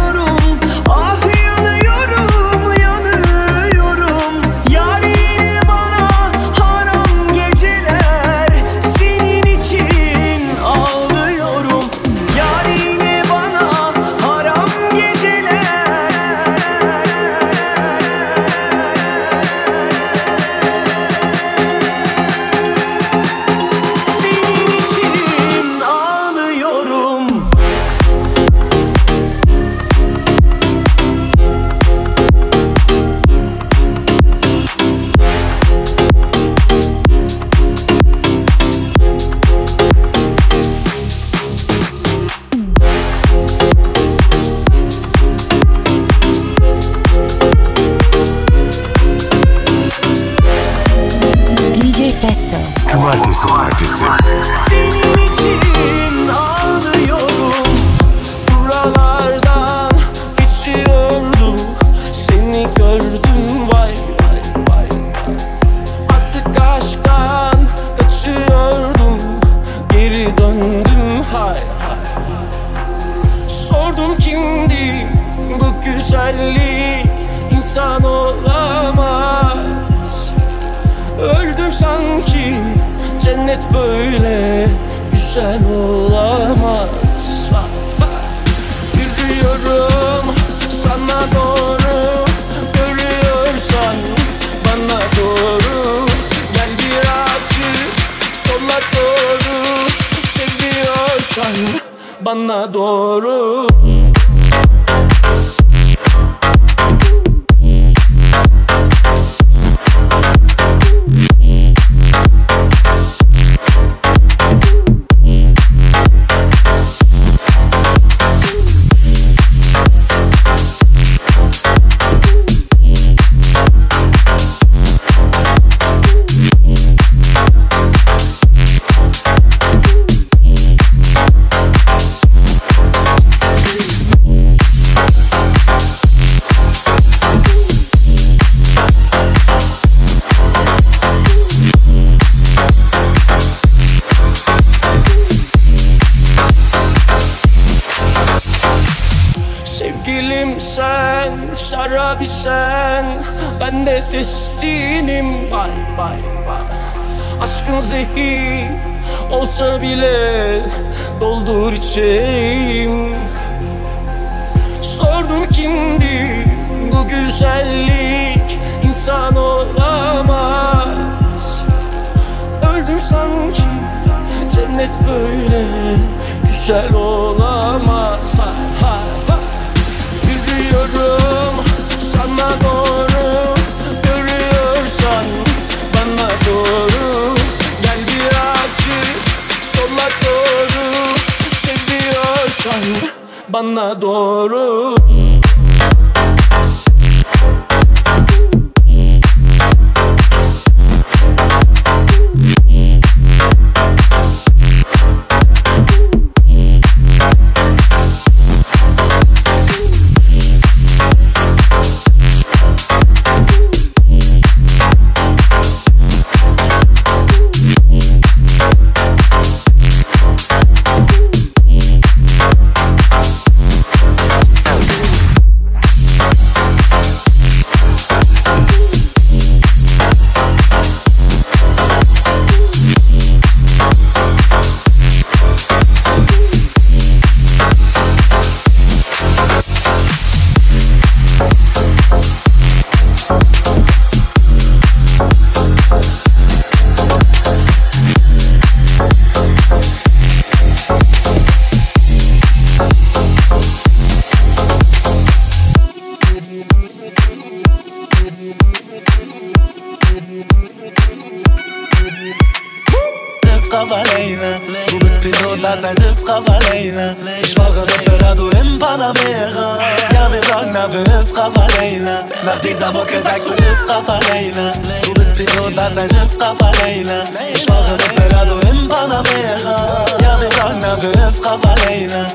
yanıyorum, ah yanıyorum, yanıyorum. Yar yine J Festo. Cumartesi Partisi. Senin için ağlıyorum. Buralardan geçiyordum. Seni gördüm vay vay vay vay. Artık aşktan kaçıyordum. Geri döndüm hay hay. Sordum kimdi bu güzellik, insan olamaz. Öldüm sanki, cennet böyle güzel olamaz. Yürüyorum sana doğru, görüyorsan bana doğru. Gel birazcık sola doğru, seviyorsan bana doğru. Sevgilim sen, şarabi sen, ben de destinim. Bay bay bay. Aşkın zehir olsa bile doldur içeyim. Sordum kimdi bu güzellik, insan olamaz. Öldüm sanki, cennet böyle güzel olamaz. Ha, ha, ha. Yürüyorum sana doğru, görüyorsan bana doğru. Gel birazcık sola doğru, seviyorsan bana doğru. Du bist Pilot, lass ein Siff drauf alleine. Ich fahre Desperado im Panamera. Ja, wir sagen, na, wir Hüff drauf alleine. Nach dieser Mucke sagst du Hüff drauf alleine. Du bist Pilot, lass ein Siff drauf alleine. Ich fahre Desperado im Panamera. Ja, wir sagen, na, wir Hüff drauf alleine.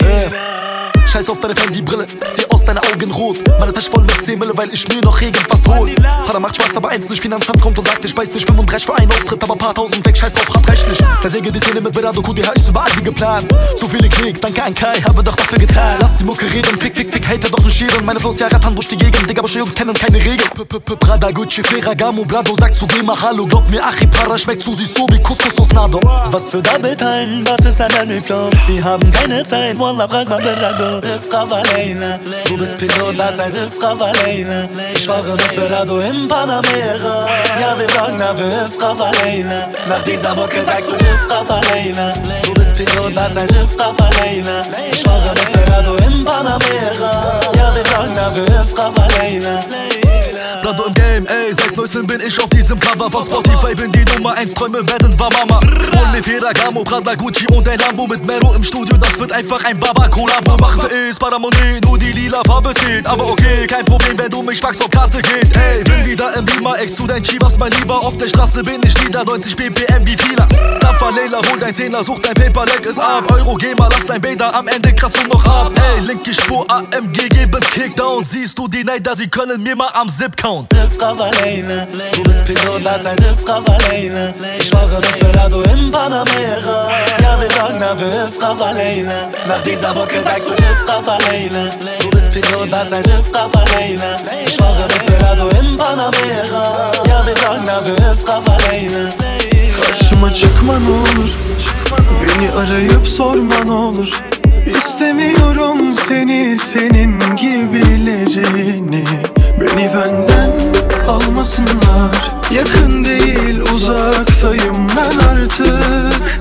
Scheiß auf deine Fendi-Brille, zieh aus deine Augen rot. Meine Tasche voll mit zehn Mille, weil ich mir noch irgendwas hol. Pada macht Spaß, aber eins nicht, Finanzamt kommt und sagt, ich weiß nicht, fünfunddreißig für einen Auftritt, aber paar tausend weg, scheiß drauf, hab rechtlich. Zersäge die Szene mit Berado, Q D H ist überall wie geplant. So viele Klicks, danke an Kai, habe doch dafür getan. Lass die Mucke reden, fick, fick, fick, hater doch nicht scheren. Meine Flows ja rattern durch die Gegend, Digga, aber Jungs kennen keine Regeln. Prada, Gucci, Ferragamo, Blado, sagt zu geh mal Hallo. Glaub mir, Achipara schmeckt zu süß, so wie Couscous aus Nado. Was für Double Time, was ist ein Memory Flow? Wir haben keine Zeit, Wallah, frag mal Berado. Frau alleine, du bist Pilot, lass ein Siff drauf alleine. Ich fahre mit Berado im Panamera. Ja, wir sagen, na, wir Hüff drauf alleine. Nach dieser Mucke sagst du Hüff drauf alleine. Du bist Pilot, lass ein Siff drauf alleine. Ich fahre mit Berado im Panamera. Ja, wir sagen, na, wir Hüff drauf alleine. Gerade im Game, ey, seit neuestem bin ich auf diesem Cover von Spotify, bin die Nummer eins, Träume werden wahr, Mama. Hol mir Ferragamo, Prada, Gucci und ein Lambo mit Mero im Studio, das wird einfach ein Baba-Kollabo. Machen wir es, Paramonet, nur die lila Farbe zählt. Aber okay, kein Problem, wenn du mich fragst, ob Karte geht. Ey, bin wieder im Beamer, ex zu dein Chivas, mein Lieber. Auf der Straße bin ich wieder, neunzig B P M wie Pila. Daffa Leila, hol dein Zehner, such dein Paper, leg es ab. Euro, geh mal, lass dein Bader, am Ende kratzt du noch ab. Ey, linke Spur, A M G, geben Kickdown. Siehst du die Neider, sie können mir mal am Zip count. Frau Valena, du bist Pilot, lass ein Schiff, Frau Valena. Ich fahre mit Belado im Panamera. Ja, wir sagen, na, wir Frau Valena. Nach dieser Mucke sagst du, Frau Valena. Du bist Pilot, lass ein Schiff, Frau Valena. Ich fahre mit Belado im Panamera. Ja, wir sagen, na, wir Frau Valena. Karşıma çıkma ne olur, beni arayıp sorma ne olur. İstemiyorum seni, senin gibilerini. Beni benden almasınlar. Yakın değil, uzaktayım ben artık.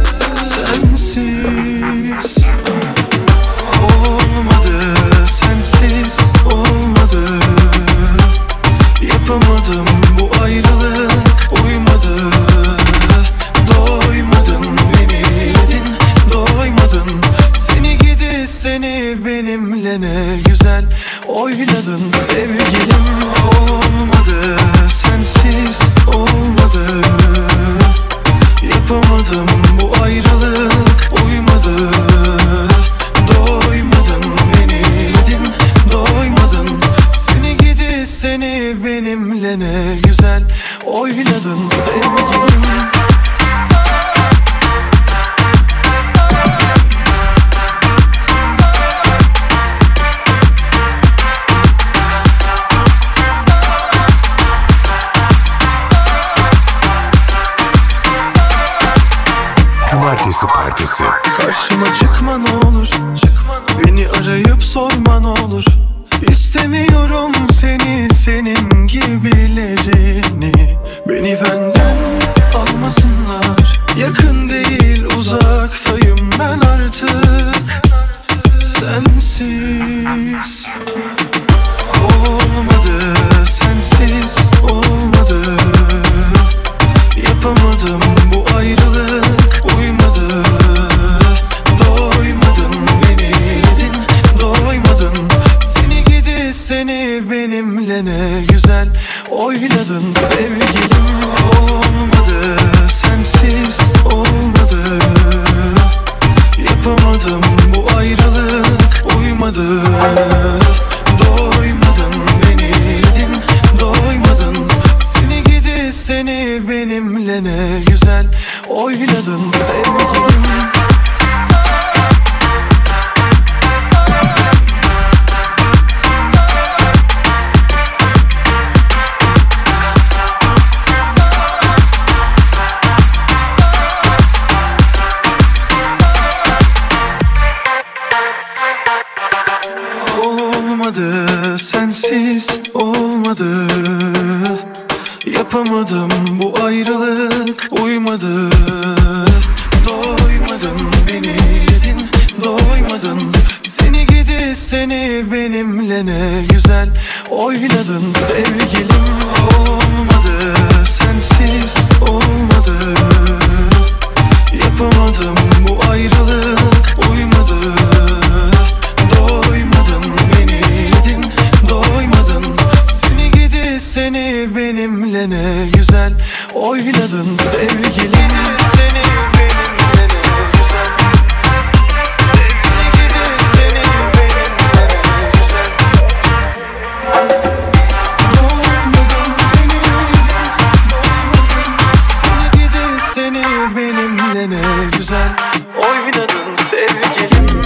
Sensiz olmadı, sensiz olmadı. Yapamadım bu ayrılık, uymadı. Doymadın, beni yedin, doymadın. Seni gidi seni benimle ne güzel oynadın sevgilim. Olmadı, sensiz olmadı. Yapamadım bu ayrılık, uymadı. Doymadın, beni yedin, doymadın. Seni gidi seni benimle ne güzel oynadın sevgilim. Cumartesi Partisi. Karşıma çıkma ne olur, beni arayıp sorma ne olur. İstemiyorum seni, senin gibilerini. Beni benden almasınlar. Yakın değil, uzaktayım ben artık. Sensiz olmadı, sensiz olmadı. Yapamadım bu ayrılık, uymadı. Doymadın, beni yedin, doymadın. Seni gidi seni benimle ne güzel oynadın sevgilim. Olmadı, sensiz olmadı. Yapamadım bu ayrılık, uymadı. Doymadın, beni yedin, doymadın. Seni gidi seni benimle ne güzel oynadın sevgilim. Olmadı, sensiz olmadı. Yapamadım bu ayrılık, uymadı. Doymadın, beni yedin, doymadın. Seni gidi seni benimle ne güzel oynadın sevgilim. Olmadı, sensiz olmadı. Yapamadım bu ayrılık, uymadı. Doymadın, beni yedin, doymadın. Seni gidi seni benimle ne güzel oynadın sevgilim. Seni benimle ne güzel. Seni gidi seni benimle ne güzel. Doymadın, beni yedin, doymadın. Seni gidi seni benimle ne güzel oynadın sevgilim.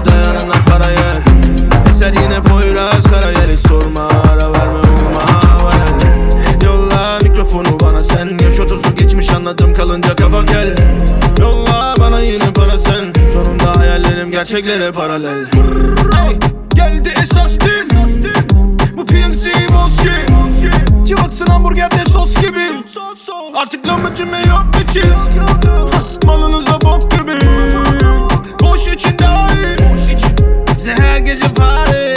Eser yine Poyraz Karayel, hiç sorma, ara verme, olma. gerçeklere paralel. Hey, geldi esas gün. Bu P M C bullshit. Cıvaksın hamburgerde sos gibi. Artık lahmacun yok bir çiz. Malınıza bok gibi. Boş için dahil. Bize her gece party.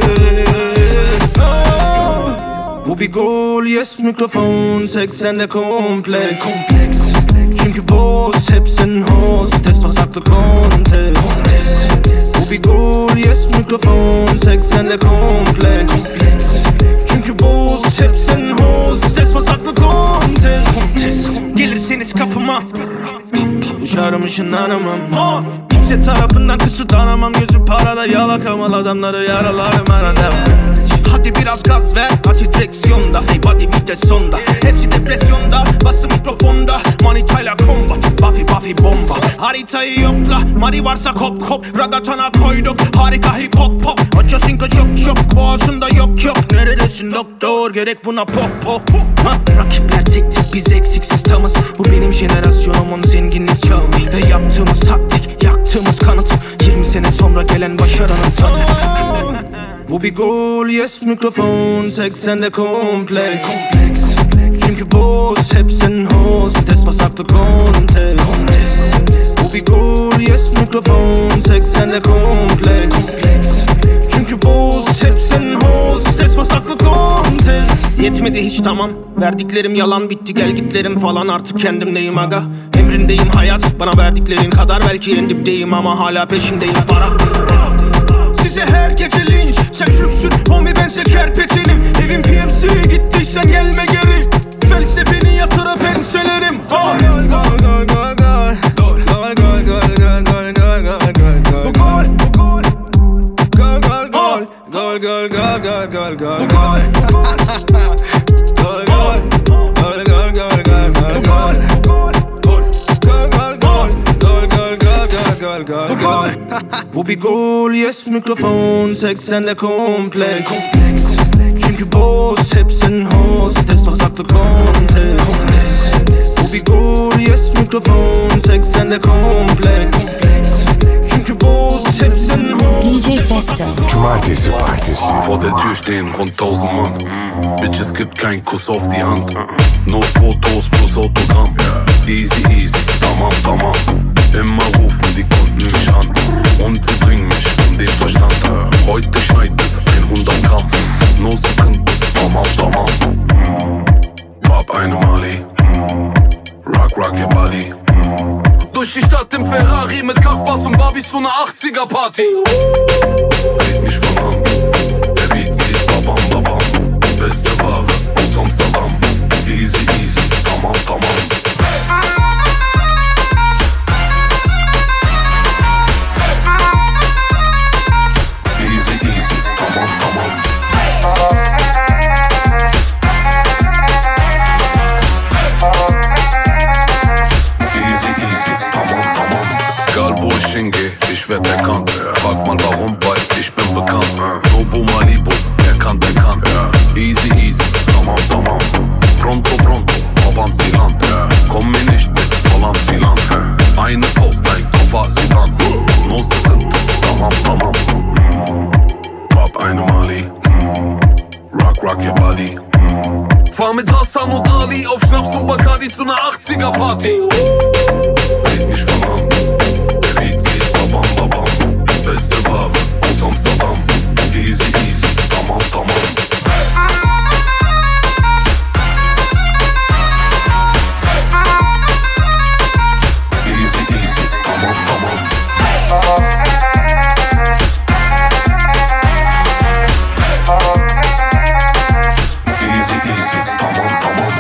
Oh. Bu bir gol, yes mikrofon. seksende kompleks. Kompleks. Çünkü boss hepsin hostes. Pasaklı kontes. Bu bir gol, yes mikrofon. seksende kompleks. Kompleks. Çünkü boss hepsin hostes. Pasaklı kontes. Gelirseniz kapıma uçarım ışınlanamam. Kimse tarafından kısıtlanamam. Gözü parada yalakamal adamları yaralarım arada. Hadi biraz gaz ver, hadi direksiyonda. Hey body vites sonda. Hepsi depresyonda, bası mikrofonda. Manitayla combat, Buffy Buffy bomba. Haritayı yokla, Mari varsa kop kop. Ragatana koyduk, harika hip hop pop. Aço sinka çok çok, boğazında yok yok. Neredesin doktor, gerek buna pop pop. Ha, rakipler tek tek, biz eksiksiz tamız. Bu benim jenerasyonumun zenginlik çağı. Ve yaptığımız taktik, yaktığımız kanıt. Yirmi sene sonra gelen başarının tadı. Bu bir gol, yes mikrofon. seksende kompleks. Kompleks. Çünkü boss hepsin hostes. Pasaklı kontes. Bu bir gol, yes mikrofon. seksende kompleks. Kompleks. Çünkü boss hepsin hostes. Pasaklı kontes. Yetmedi hiç tamam. Verdiklerim yalan, bitti gel gitlerim falan. Artık kendimdeyim aga. Emrindeyim hayat. Bana verdiklerin kadar belki en dipteyim ama hala peşindeyim para. Size her gece linç. Sen çürüksün homie, bense kerpetenim. Evim P M C, gittiysen gelme geri. Felsefeni yatırıp enselerim. Gol gol gol gol gol gol. Gol gol gol gol gol gol gol gol. Bu gol bu gol. Gol gol gol. Gol gol gol gol gol gol. Bu gol bu gol. Gol gol. Gol gol gol gol gol. Bu gol bu gol. Gol gol gol. Gol gol gol gol gol. Bu gol. Bu bir gol, yes mikrofon. seksende kompleks. Kompleks. Çünkü boss hepsin hostes. Pasaklı kontes. Bu bir gol, yes mikrofon. seksende kompleks. Kompleks. Çünkü boss hepsin hostes. D J Fester. Cumartesi Partisi. Vor der Tür stehen rund tausend Mann. Bitch, es gibt kein Kuss auf die Hand. Nur Fotos plus Autogramm. Easy easy, tamam tamam. Immer rufen die Kunden mich an. Und sie bringen mich um den Verstand. Heute schneit es hundert Gramm. No sıkıntı, tamam tamam. Pop eine Mali. Rock rock your body. Durch die Stadt im Ferrari mit Kachbass und Barbies zu ner achtziger Party. Red mich von an. Der Beat geht babam babam. Beste Ware aus Amsterdam. Easy easy, tamam tamam. Ich werd erkannt, frag mal warum, weil ich bin bekannt. Nobu Malibu, wer kann, der kann. Easy easy, tamam tamam. Pronto pronto, babam Plan. Komm mir nicht mit falan filan. Eine Faust, dein Koffer, Sidan. No sıkıntı, tamam tamam. Pop eine Mali. Rock rock your body. Fahr mit Hassan und Ali auf Schnaps und Bacardi zu ner achtziger Party. Red nicht von an. Babam babam, beste Ware aus Amsterdam. Easy easy, tamam tamam. Easy easy, tamam tamam. Easy easy, tamam tamam.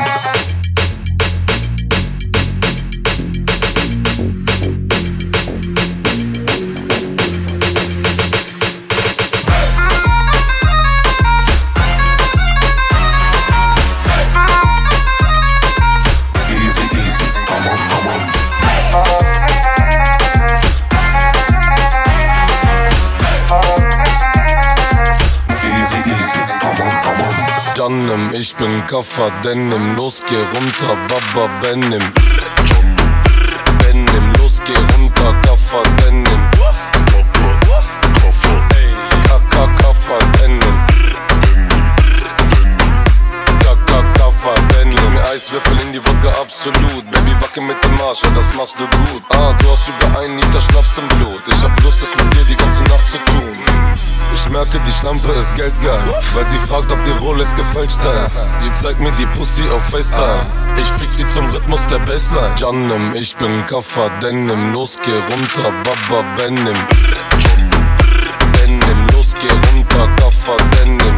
Canım, ich bin Kaffer Denim, los geh runter, Baba Benim. Benim, los geh runter, Kaffer Denim. Asche, das machst du gut. Ah, du hast über einen Liter Schnaps im Blut. Ich hab Lust, es mit dir die ganze Nacht zu tun. Ich merke, die Schlampe ist geldgeil, weil sie fragt, ob die Rolex gefälscht sei. Sie zeigt mir die Pussy auf FaceTime. Ich fick sie zum Rhythmus der Bassline. Janem, ich bin Kaffa Denim. Los, geh runter, Baba Benim. Benim, los, geh runter, Kaffa Denim.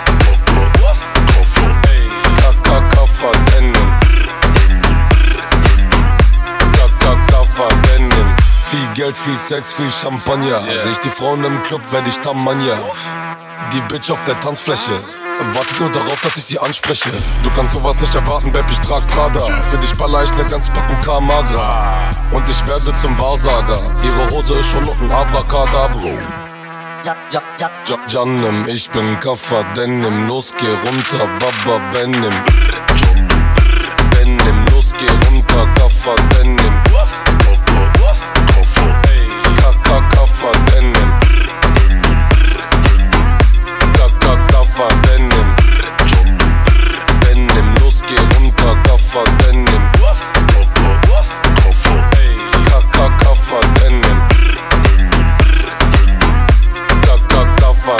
Kaka, Kaffa Denim. Kaka, Kaffa Denim. Viel Geld, viel Sex, viel Champagner. Yeah. Seh ich die Frauen im Club, werd ich Tamania. Die Bitch auf der Tanzfläche wartet nur darauf, dass ich sie anspreche. Du kannst sowas nicht erwarten, Babe, ich trag Prada. Für dich baller ich ne ganze Packung Kamagra. Und ich werde zum Wahrsager. Ihre Hose ist schon noch ein Abracadabro. Ja, ja, ja. Ja, Janem, ich bin Kaffa Denim. Los, geh runter, Baba Benim. Benim, los, geh runter, Kaffa Denim. Kaka, Kaffa Denim. Kaka, Kaffa Denim. Benim, los, geh runter, Kaffa Denim. Kaka, Kaffa Denim. Kaka, Kaffa.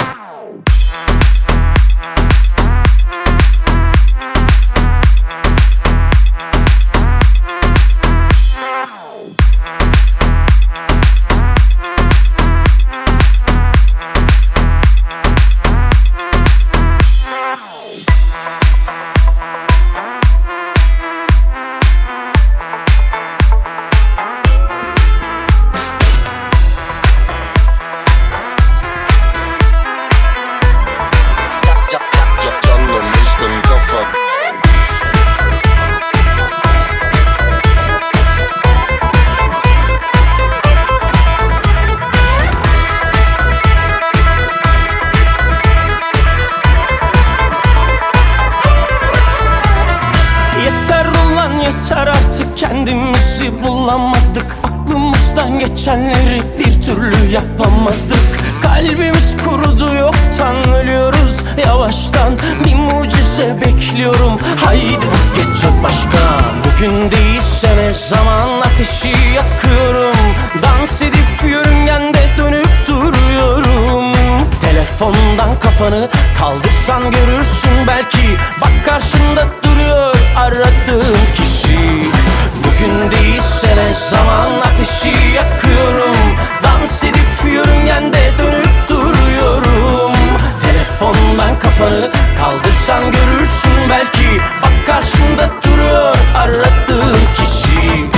Kendimizi bulamadık, aklımızdan geçenleri bir türlü yapamadık. Kalbimiz kurudu, yoktan ölüyoruz yavaştan. Bir mucize bekliyorum, haydi geç başka. Bugün değilse ne zaman ateşi yakıyorum. Dans edip yörüngende dönüp duruyorum. Telefondan kafanı kaldırsan görürsün belki. Bak karşında duruyor aradığım kişi. Bugün değilse ne zaman ateşi yakıyorum. Dans edip yörüngende dönüp duruyorum. Telefondan kafanı kaldırsan görürsün belki. Bak karşında duruyor aradığım kişi.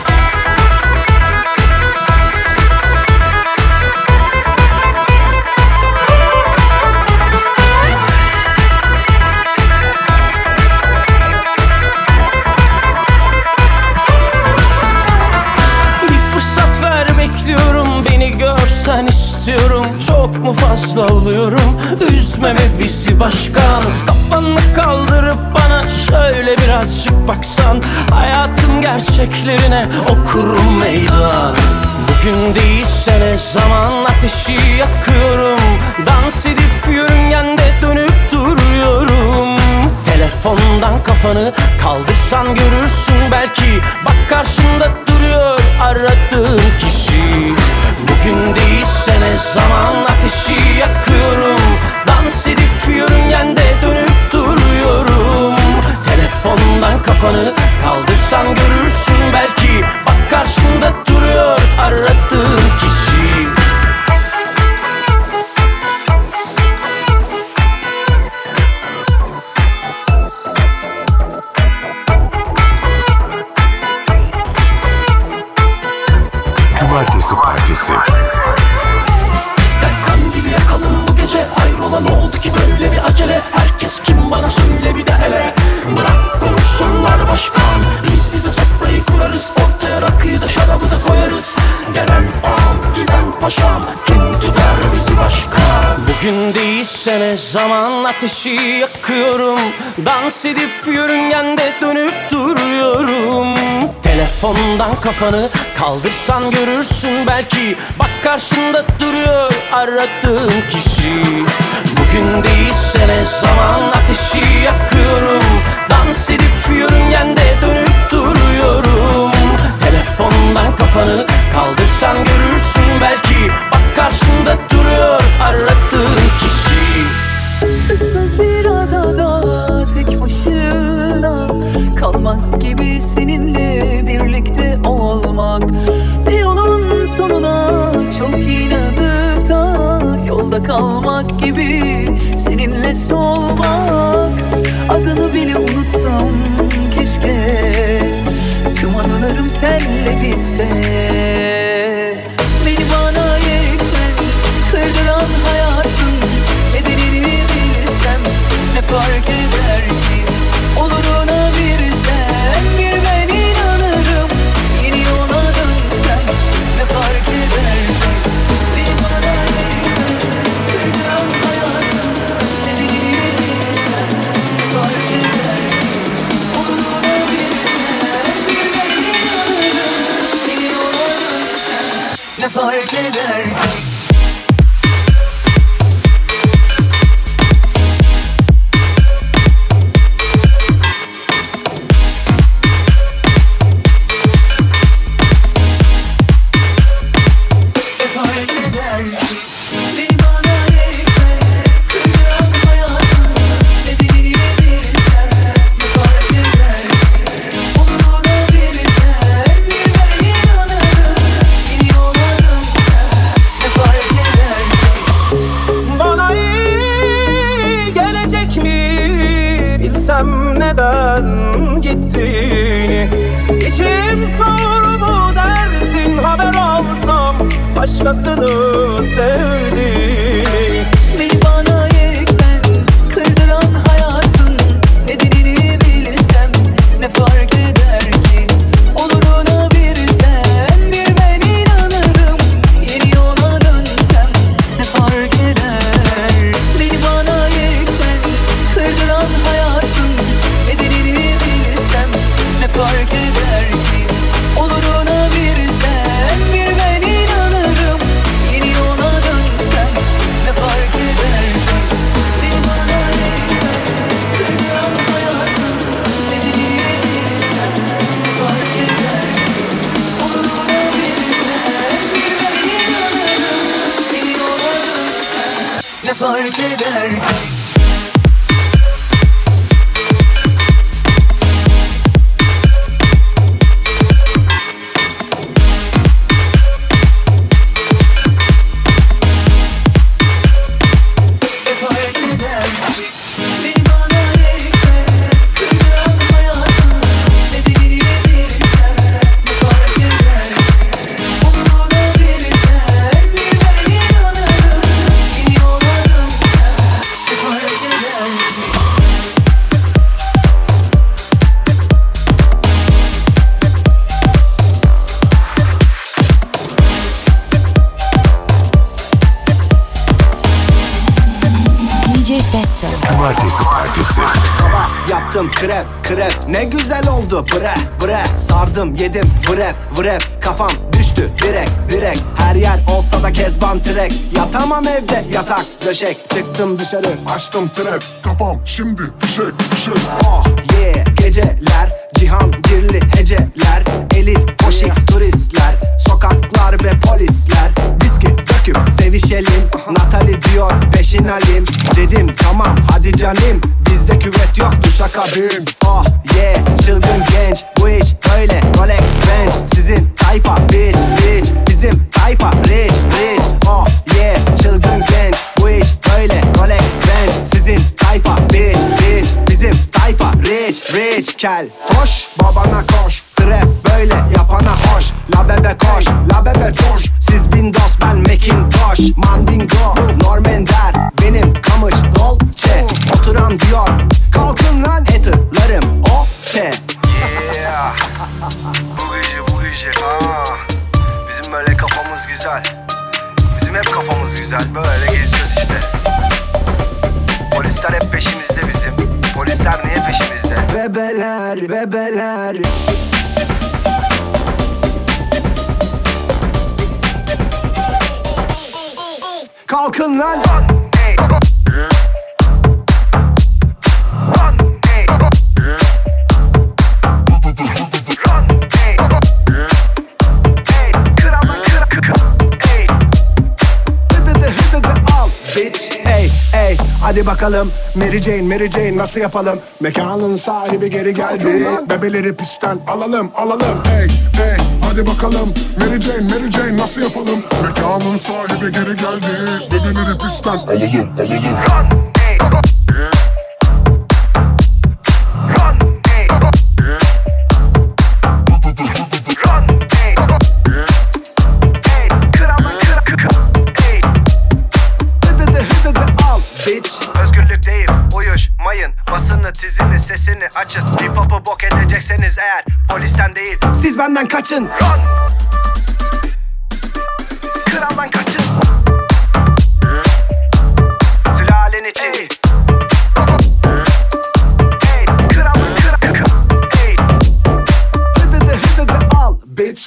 Beni görsen istiyorum. Çok mu fazla oluyorum? Üzmeme bizi başkan. Kafanı kaldırıp bana şöyle birazcık baksan. Hayatın gerçeklerine okurum meydan. Bugün değilse ne zaman ateşi yakıyorum. Dans edip yörüngende dönüp duruyorum. Telefondan kafanı kaldırsan görürsün belki. Bak karşında duruyor aradığın kişi. Bugün değilse ne zaman ateşi yakıyorum. Dans edip yörüngende dönüp duruyorum. Telefondan kafanı kaldırsan görürsün belki. Bak karşında duruyor aradığın kişi. Cumartesi Partisi. Ben kandili yakalım bu gece. Hayrola ne oldu ki böyle bir acele? Herkes kim bana söyle bir de hele. Bırak konuşsunlar başkan. Biz bize sofrayı kurarız. Ortaya rakıyı da şarabı da koyarız. Gelen ağam giden paşam. Kim tutar bizi başkan? Bugün değilse ne zaman ateşi yakıyorum. Dans edip yörüngende dönüp duruyorum. Telefondan kafanı kaldırsan görürsün belki. Bak karşında duruyor aradığın kişi. Bugün değilse ne zaman ateşi yakıyorum. Dans edip yörüngende dönüp duruyorum. Telefon Kaldırsan görürsün belki, bak karşında duruyor aradığın kişi. Issız bir adada tek başına kalmak gibi seninle birlikte olmak. Bir yolun sonuna çok inanıp da yolda kalmak gibi seninle solmak. Adını bile unutsam keşke, tüm anılarım senle bitse. Beni bana yekten kırdıran hayatın nedenini bilsem ne fark eder ki? Oluruna bir sen, bir ben inanırım. Yeni yola dönsem ne fark eder ki? Beni bana yekten kırdıran hayatın nedenini bilsem ne fark eder ki? Oluruna bir sen, bir ben inanırım. Yeni yola dönsem ne fark eder ki? Neden gittiğini İçim soğur mu dersin, haber alsam başkasını sevdiğini. Beni bana yekten kırdıran hayatın nedenini bilsem ne fark eder ki? Oluruna bir sen, bir ben inanırım. Yeni yola dönsem ne fark eder? Beni bana yekten kırdıran hayatın nedenini bilsem ne fark eder ki? Oluruna bir sen, bir ben inanırım. Yeni yola dönsem ne fark eder ki? Beni bana yekten kırdıran hayatın nedenini bilsem ne fark eder ki? Oluruna bir sen, bir ben inanırım. Yeni yola dönsem ne fark eder ki? D J Festo. Cumartesi Partisi. Sabah yaptım krep krep, ne güzel oldu bre bre. Sardım yedim vrep vrep, kafam düştü direkt direkt. Her yer olsa da kezban trek, yatamam evde yatak döşek. Çıktım dışarı açtım trap, kafam şimdi fişek fişek. Oh yeah, geceler cihangirli heceler, elit poşik turistler, sokaklar ve polisler. Viski döküp sevişelim, Natali diyor peşin alim. Dedim tamam hadi canım, bizde küvet yok duşakabin. Oh yeah, çılgın genç, bu iş öyle Rolex Range. Sizin tayfa bitch bitch, bizim tayfa rich rich. Oh yeah, çılgın genç, bu iş öyle Rolex Range. Sizin tayfa bitch bitch, bizim tayfa rich rich. Kel koş babana koş, trap böyle yapana hoş. La bebe koş, la bebe coş. Siz Windows ben Macintosh. Mandingo, Normender, benim kamış Dolce. Oturan diyor, kalkın lan haterlarım o çe. Yeah. Bu gece bu gece aa. Bizim böyle kafamız güzel. Bizim hep kafamız güzel, böyle geziyoruz işte. Polisler hep peşimizde bizim. Polisler niye peşimizde? Bebeler, bebeler. Kalkın lan. Krallar Ey ey hadi bakalım Mary Jane Mary Jane nasıl yapalım? Mekanın sahibi geri geldi. Bebeleri pistten alalım alalım. Ey ey hadi bakalım Mary Jane Mary Jane nasıl yapalım? Mekanın sahibi geri geldi. Bebeleri pistten alalım alalım. Basını, tizini, sesini açın. Hip hop'u bok edecekseniz eğer polisten değil, siz benden kaçın. Run! Kraldan kaçın. Sülalen için. Hey, kraldan kral kral. Hey. Hıdıdı hıdıdı al bitch.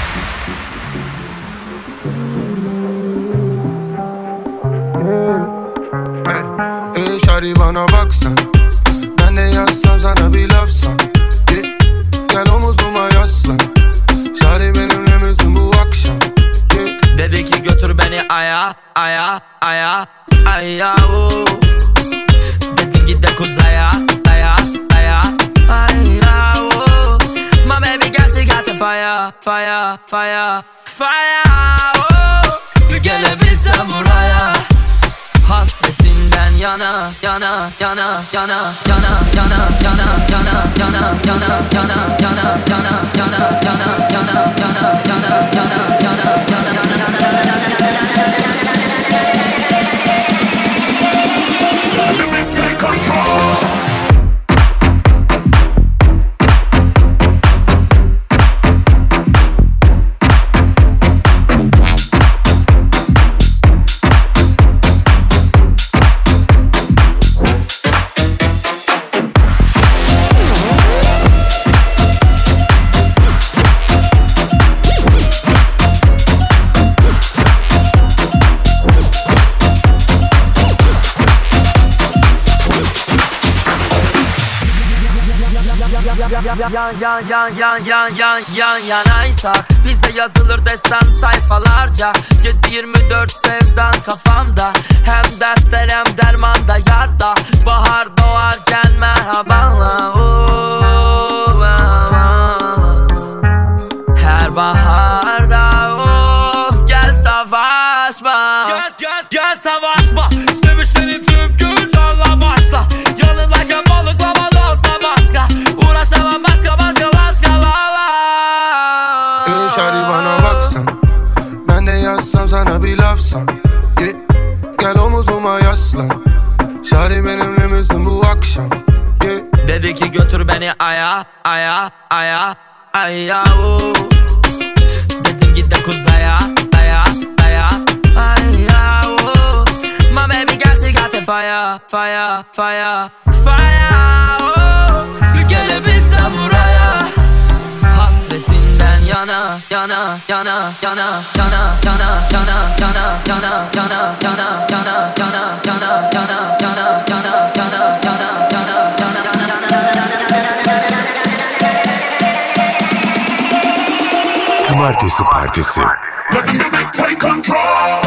Hey şari bana baksan, ben de yazsam sana bir lafsan. yeah. Gel omuzuma yaslan, şari benimle misin bu akşam? yeah. Dedi ki götür beni aya, aya, aya, aya oh. Dedi git de kuzaya, aya, aya, aya oh. My baby got you got the fire, fire, fire, fire oh. Gelebilsem buraya, hasretinden yana, yana, yana, yana, yana, yana, yana, yana, yana, yana, yana, yana, yana, yana, yana, yana, Take control. Yan yan yan yan yan yan yan yanaysak bizde yazılır destan sayfalarca. Yedi yirmi dört sevdan kafamda, hem dertler hem dermanda yarda. Bahar doğarken merhabanla oh, her baharda of gel savaşma. Gel gel gel savaşma. Sevişelim tüm gün canla başla. Yanındayken balıklama dansa başka. Uğraşamam başka başka başka la la. Ey şari bana baksan, ben de yazsam sana bir lafsan. yeah. Gel omuzuma yaslan, şari benimle misin bu akşam? yeah. Dedi ki götür beni aya, aya, aya, aya oh. Dedim git de kuzaya, aya, aya, aya oh. My baby got you got the fire, fire, fire, fire oh. Gelebilsem buraya, hasretinden yana, yana, yana, yana, yana, yana, yana, yana, yana, yana, yana, yana, yana, yana, yana, yana, yana, yana, Cumartesi Partisi. Let the music take control.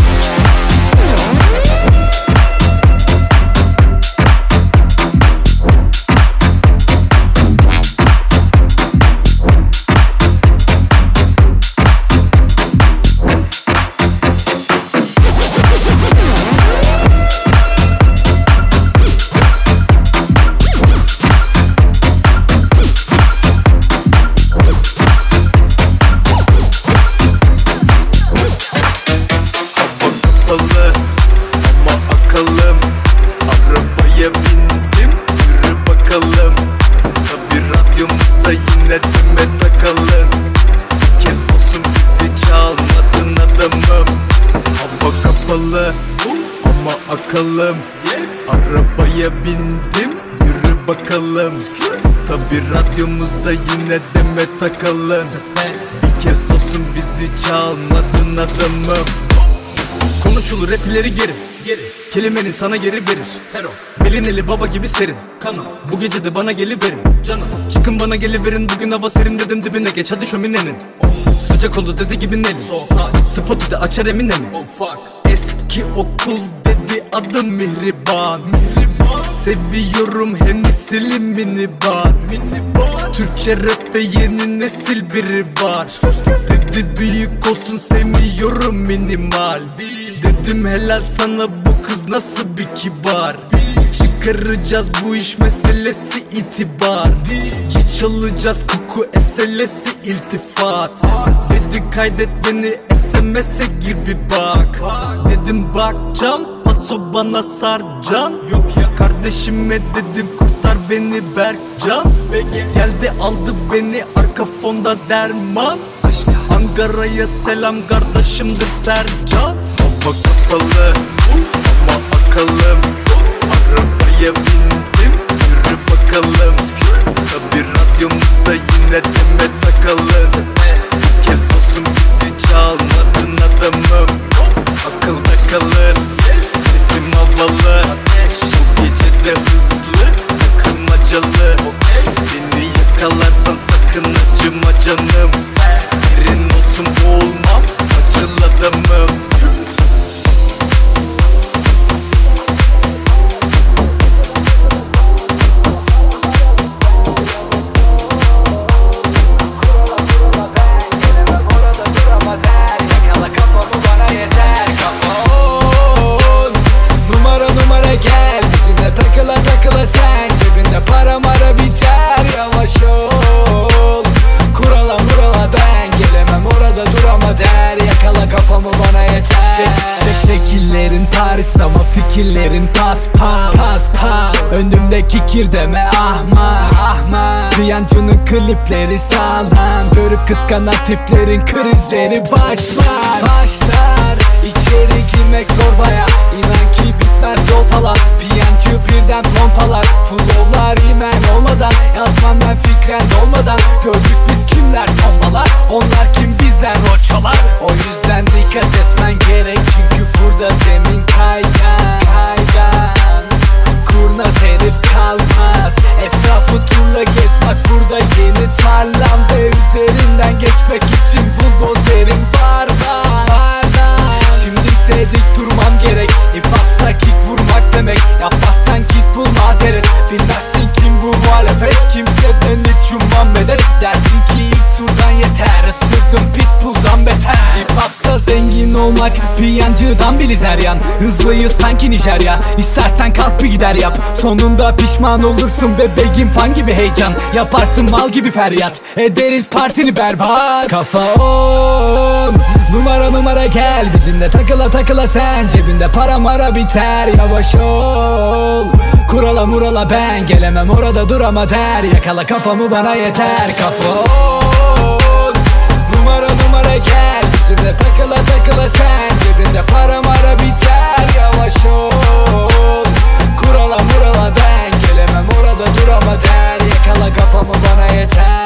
Bakalım, arabaya bindim, yürü bakalım. Tabi radyomuzda yine deme takalım. Bir kez olsun bizi çalmadın adamım. Konuşulur rap ileri geri, kelimenin sana geri verir. Belin eli baba gibi serin, bu gece de bana geliverin. Çıkın bana geliverin, bugün hava serin dedim dibine geç hadi şöminenin. Sıcak oldu dedi gibi Nelly, spotu da açar Eminem'i. Eski ki okul dedi adım Mihriban. Seviyorum Hennessy minibar. Türkçe rapte yeni nesil biri var. Dedi büyük olsun sevmiyorum minimal. Dedim helal sana bu kız nasıl bir kibar. Çıkaracağız bu iş meselesi itibar. Geç alacağız koku eselesi iltifat. Dedi kaydet beni S M S'e gir bir bak. Dedim bakcam paso bana sarcan. Yok ya kardeşime dedim kurtar beni Berkcan. Geldi aldı beni arka fonda derman. Ankara'ya selam kardeşimdir Sercan. Hava kapalı ama akalım. Arabaya bindim yürü bakalım. Tabi radyomuzda yine deme takalım. Bir kez olsun bizi çalmadın adamım. Akılda kalır sesim havalı. Bu gece de hızlı takılmacalı. Beni yakalarsan sakın acıma canım. Serin olsun boğulmam acıl adamım. Takıla takıla sen cebinde para mara biter. Yavaş ol kurala murala ben gelemem orada durama der. Yakala kafamı bana yeter. Şek, şekillerin Paris ama fikirlerin pas pas pas pas. Önümdeki kir deme ahmak ahmak. Piyancının klipleri sağlam. Görüp kıskanan tiplerin krizleri başlar başlar. İçeri girmek zor baya. İnan ki bitmez yol falan. Piyancı birden pompalar. Flowlar imen olmadan. Yazmam ben fikren olmadan. Gördük biz kimler tombalar. Onlar kim bizden roçalar. O yüzden dikkat etmen gerek. Çünkü burada zemin kaygan kaygan. Kurnaz herif kalmaz. Etrafı turla gez bak burada yeni tarlam. Ve üzerinden geçmek için buldozerin var var. Şimdi ise dik durmam gerek. Hip hopsa kick vurmak demek. Yapmazsan git bul mazeret. Bilmezsin kim bu muhalefet. Kimseden hiç ummam medet. Dersin ki ilk turdan yeter. Isırdım pitbull'dan beter. Hip hopsa zengin olmak piyancıdan biliz her yan. Hızlıyız sanki Nijerya. İstersen kalk bir gider yap. Sonunda pişman olursun bebeğim fan gibi heyecan. Yaparsın mal gibi feryat. Ederiz partini berbat. Kafa on numara numara gel bizimle takıla takıla sen. Cebinde para mara biter. Yavaş ol kurala murala ben gelemem orada durama der. Yakala kafamı bana yeter. Kafa on numara numara gel bizimle takıla takıla sen. Cebinde para mara biter. Yavaş ol kurala murala ben gelemem orada durama der. Yakala kafamı bana yeter.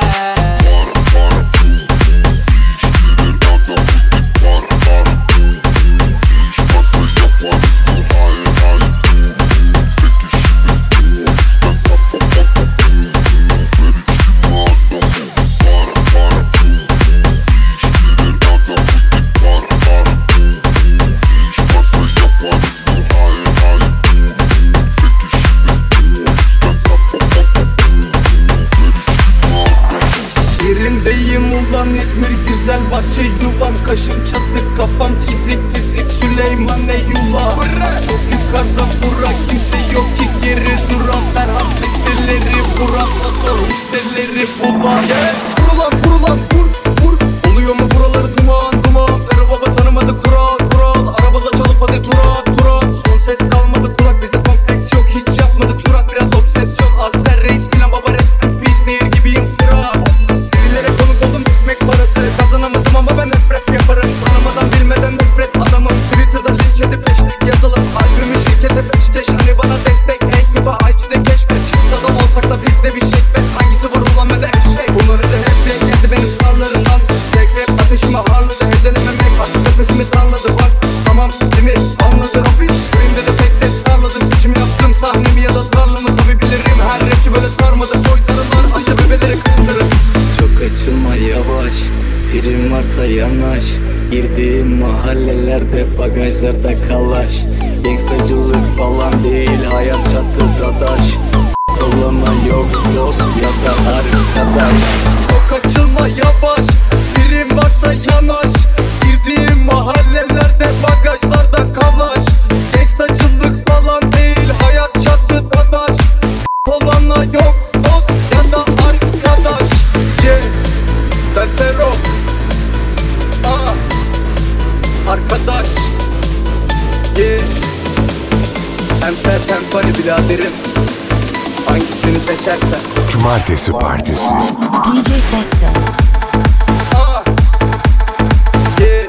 İzmir güzel bahçe yuvam. Kaşım çatık kafam çizik fizik Süleyman Eyvallah. Çok yukarıda bura kimse yok ki geri duran. Ferhat listeleri buran nasıl hisseleri bulan. Kurulan kurulan vur vur. Oluyor mu buraları duman duman. Ferro baba tanımadı kural kural. Arabada çalıp hadi turat turat. Son ses kalmadı kulak bizde kompleks yok. Hiç yapmadık surat biraz obsesyon. Azer reis filan baba rest in peace. Nehir gibiyim sıra. Serilere konuk oldum ekmek parası. Kazanamadım ama ben hep rap yaparım. Tanımadan bilmeden nefret adamım. Twitter'da linç edip hashtag yazalım. Albümü şirkete mahallelerde bagajlarda kalaş. Gangstacılık falan değil, hayat çatıda daş. Dolana yok dost ya da arkadaş. Çok açılma yavaş, prim varsa yanaş. Girdiğim mahallelerde bagajlarda kalaş. Gangstacılık falan değil, hayat çatıda daş. Dolana yok dost ya da arkadaş. Yeah, ben Fero. Ah, arkadaş. Yeah, hem sert hem funny biraderim. Hangisini seçersen. Cumartesi Partisi. D J Festo. Ah, yeah.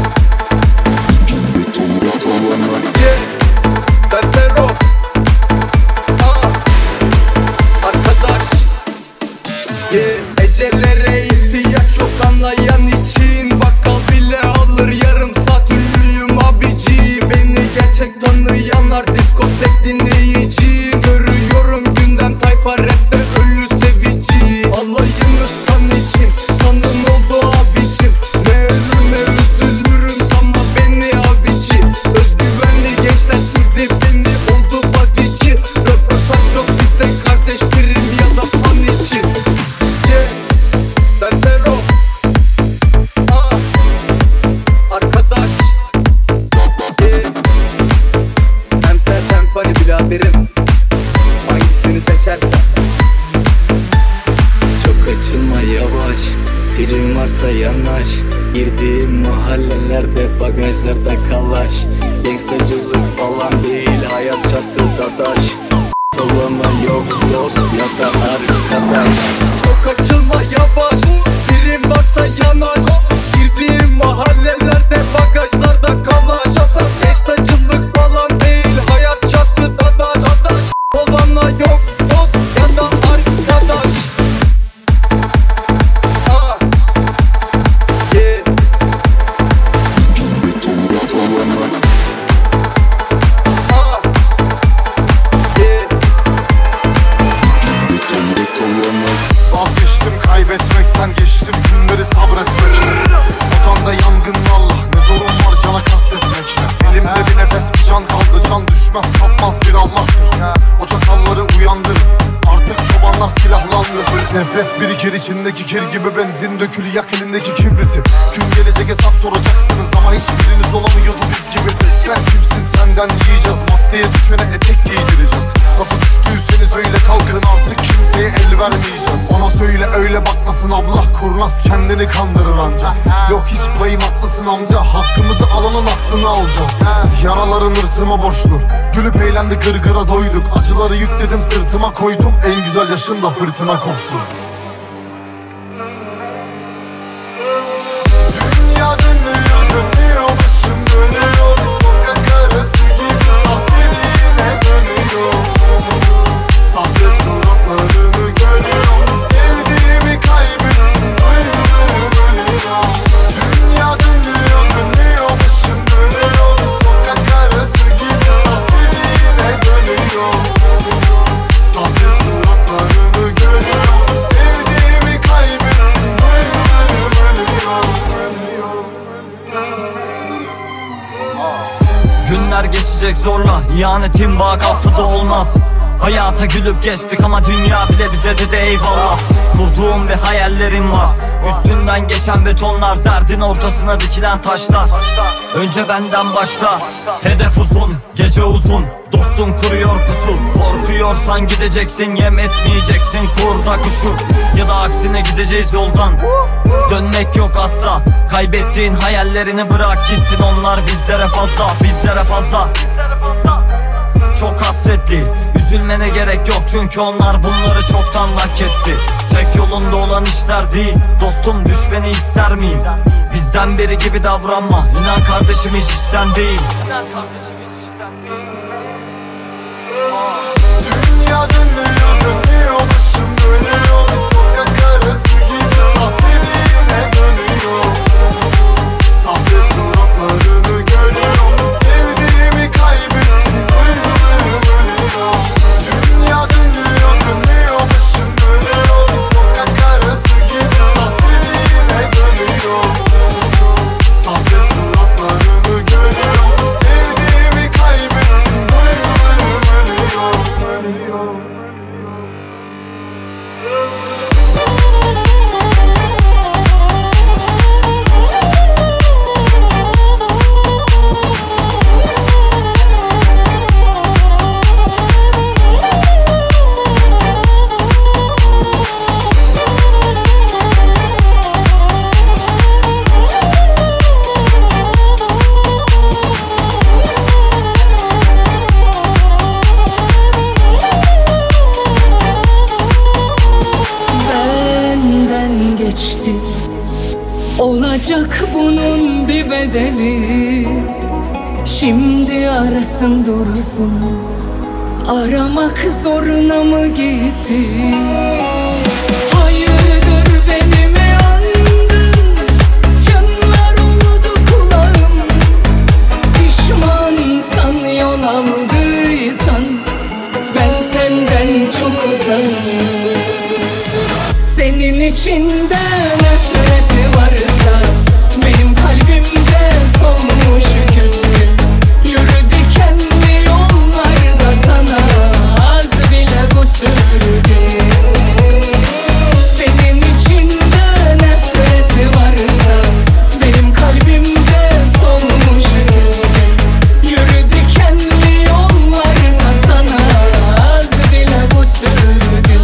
Yeah, ben Fero. Ah, arkadaş. Yeah, ecelere ihtiyaç yok anlayan için. Bakkal bile alır yarım saat ünlüyüm abici. Beni gerçek tanıyanlar diskotek dinleyiciyim. Görüyorum gündem tayfa rapte ölü sevici. Alayınız kan için sanın oldu abicim. Ne ölür ne üzülürüm sanma beni avici. Özgüvenli gençler sürdü beni oldu badici. Röportaj yok bizde kardeş prim ya da fan için. Yeah, ben Fero. Ah, arkadaş. Yeah, hem sert hem funny biraderim. Hangisini seçersen. Çok açılma yavaş, prim varsa yanaş. Girdiğim mahallelerde bagajlarda kalaş. Gangstacılık falan değil, hayat çatıda daş. Dolana yok dost ya da arkadaş. Çok açılma yavaş, prim varsa yanaş. Girdiğim mahallelerde bagajlarda kalaş. Gangstacılık falan değil, hayat çatıda daş. Dolana yok dost ya da arkadaş. Ah, yeah. Ah, yeah. Vazgeçtim kaybetmekten, geçtim günleri sabretmekle. Otanda yangınlarla ne zorun var cana kastetmekle. Elimde bir nefes bir can kaldı, can düşmez kalkmaz bir Allah'tır. O çakalları uyandırın, artık çobanlar silahlandı. Nefret birikir içindeki kir gibi, benzin dökülü yak elindeki kibriti. Gün gelecek hesap soracaksınız ama hiçbiriniz olamıyordu biz gibi. Sen kimsin, senden yiyeceğiz, maddeye düşene etek giydireceğiz. Nasıl düştüyseniz öyle kalkın, artık kimseye el vermeyeceğiz. Ona söyle öyle bakmasın abla, kurnaz kendini kandırır anca. Yok hiç payım haklısın amca, hakkımızı alanın aklını alacağız. Yaraların hırsıma borçlu, gülüp eğlendi gırgıra doyduk. Acıları yükledim sırtıma koydum, en güzel yaşında fırtına kopsun. Dünya dönüyor dönüyor, başım dönüyor. Sokak arası gibi sahteliğine dönüyor. Sahte suratlarını görüyorum, sevdiğimi kaybettim, duygularım ölüyor. Dünya dönüyor dönüyor, başım dönüyor. Sokak arası gibi sahteliğine dönüyor. Sahte suratlarını görüyorum, sevdiğimi kaybettim, duygularım ölüyor. Günler geçecek zorla, ihanetin bak affı olmaz. Hayata gülüp geçtik ama dünya bile bize dedi eyvallah. Kurduğum bir hayallerim var, üstünden geçen betonlar, derdin ortasına dikilen taşlar. Önce benden başla, hedef uzun, gece uzun. Dostun kuruyor pusu, korkuyorsan gideceksin, yem etmeyeceksin kurda kuşu. Ya da aksine gideceğiz yoldan, dönmek yok asla. Kaybettiğin hayallerini bırak gitsin, onlar bizlere fazla, bizlere fazla. Çok hasretli, üzülmene gerek yok çünkü onlar bunları çoktan hak etti. Tek yolunda olan işler değil, dostum düşmeni ister miyim? Bizden biri gibi davranma, inan kardeşim hiç işten değil. Dünya dönüyor dönüyor, başım dönüyor. Sokak arası gibi sahteliğine dönüyor. Sahte suratlarını görüyorum, sevdiğimi kaybettim, duygularım ölüyor. Dünya dönüyor dönüyor, başım dönüyor. Sokak arası gibi sahteliğine dönüyor. Sahte suratlarını görüyorum. Olacak bunun bir bedeli. Şimdi arasın dursun, aramak zoruna mı gitti? Hayırdır beni mi andın? Canlar oldu kulağım. Pişmansan yol aldıysan, ben senden çok uzağım. Senin içinde nefreti varsa, benim kalbimde solmuş küskün. Yürü dikenli yollarda, sana az bile bu sürgün. Senin içinde nefreti varsa, benim kalbimde solmuş küskün. Yürü dikenli yollarda, sana az bile bu sürgün.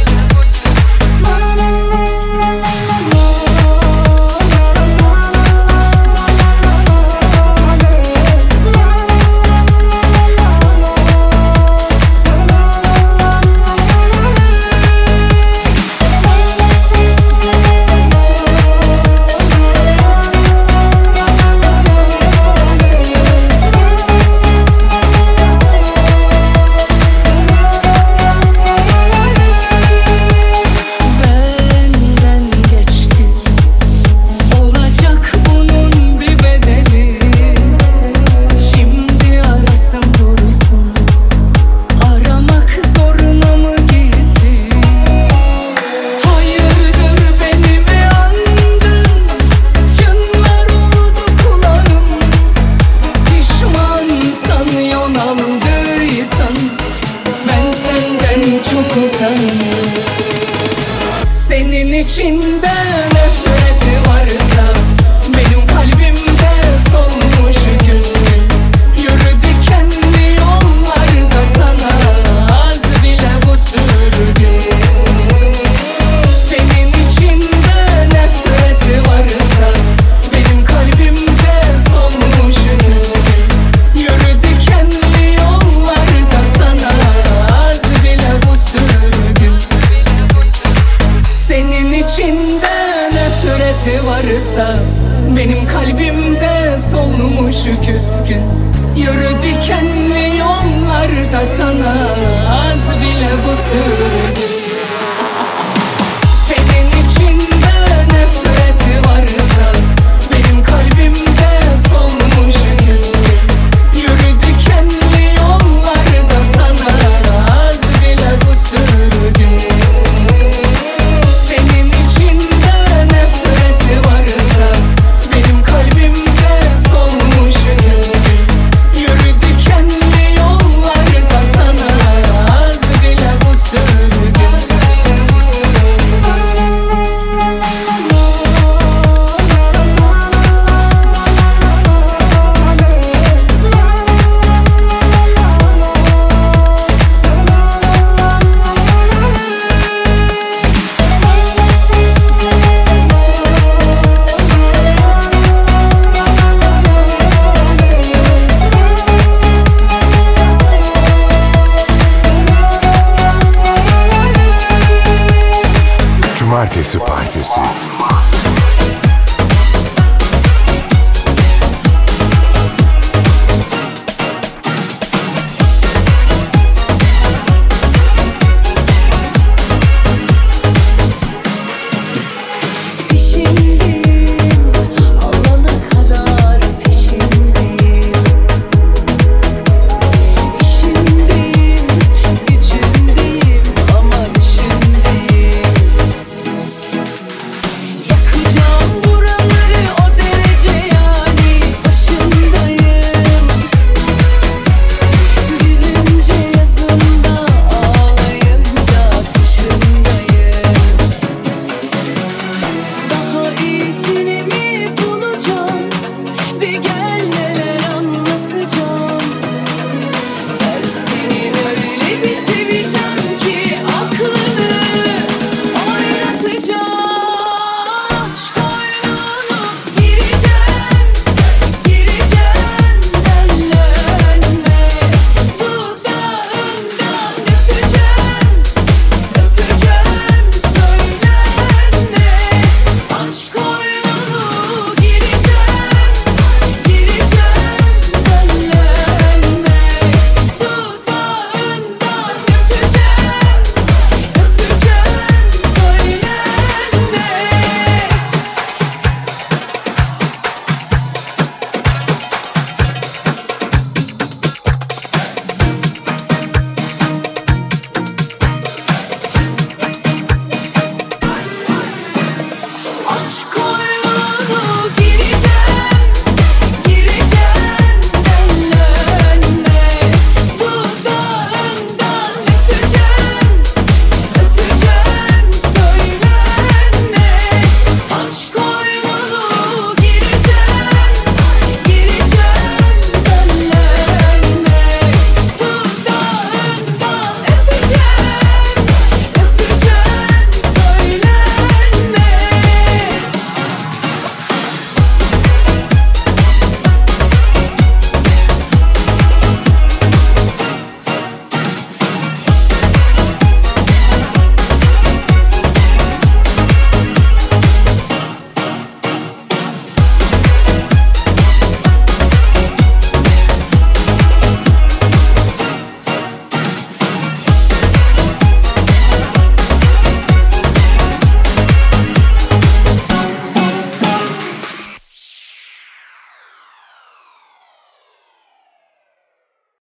Senin içinde nefreti varsa, benim kalbimde solmuş küskün. Yürü dikenli yollarda, sana az bile bu sürgün. Senin içinde nefreti varsa, benim kalbimde solmuş küskün. Yürü dikenli yollarda, sana az bile bu sürgün. Senin içinde nefreti varsa, benim kalbimde solmuş küskün. Yürü dikenli yollarda, sana az bile bu sürgün. Senin içinde nefreti varsa, benim kalbimde solmuş küskün. Yürü dikenli yollarda, sana az bile bu sürgün. Senin içinde nefreti varsa, benim kalbimde solmuş küskün. Yürü dikenli yollarda, sana az bile bu sürgün. Cumartesi Partisi.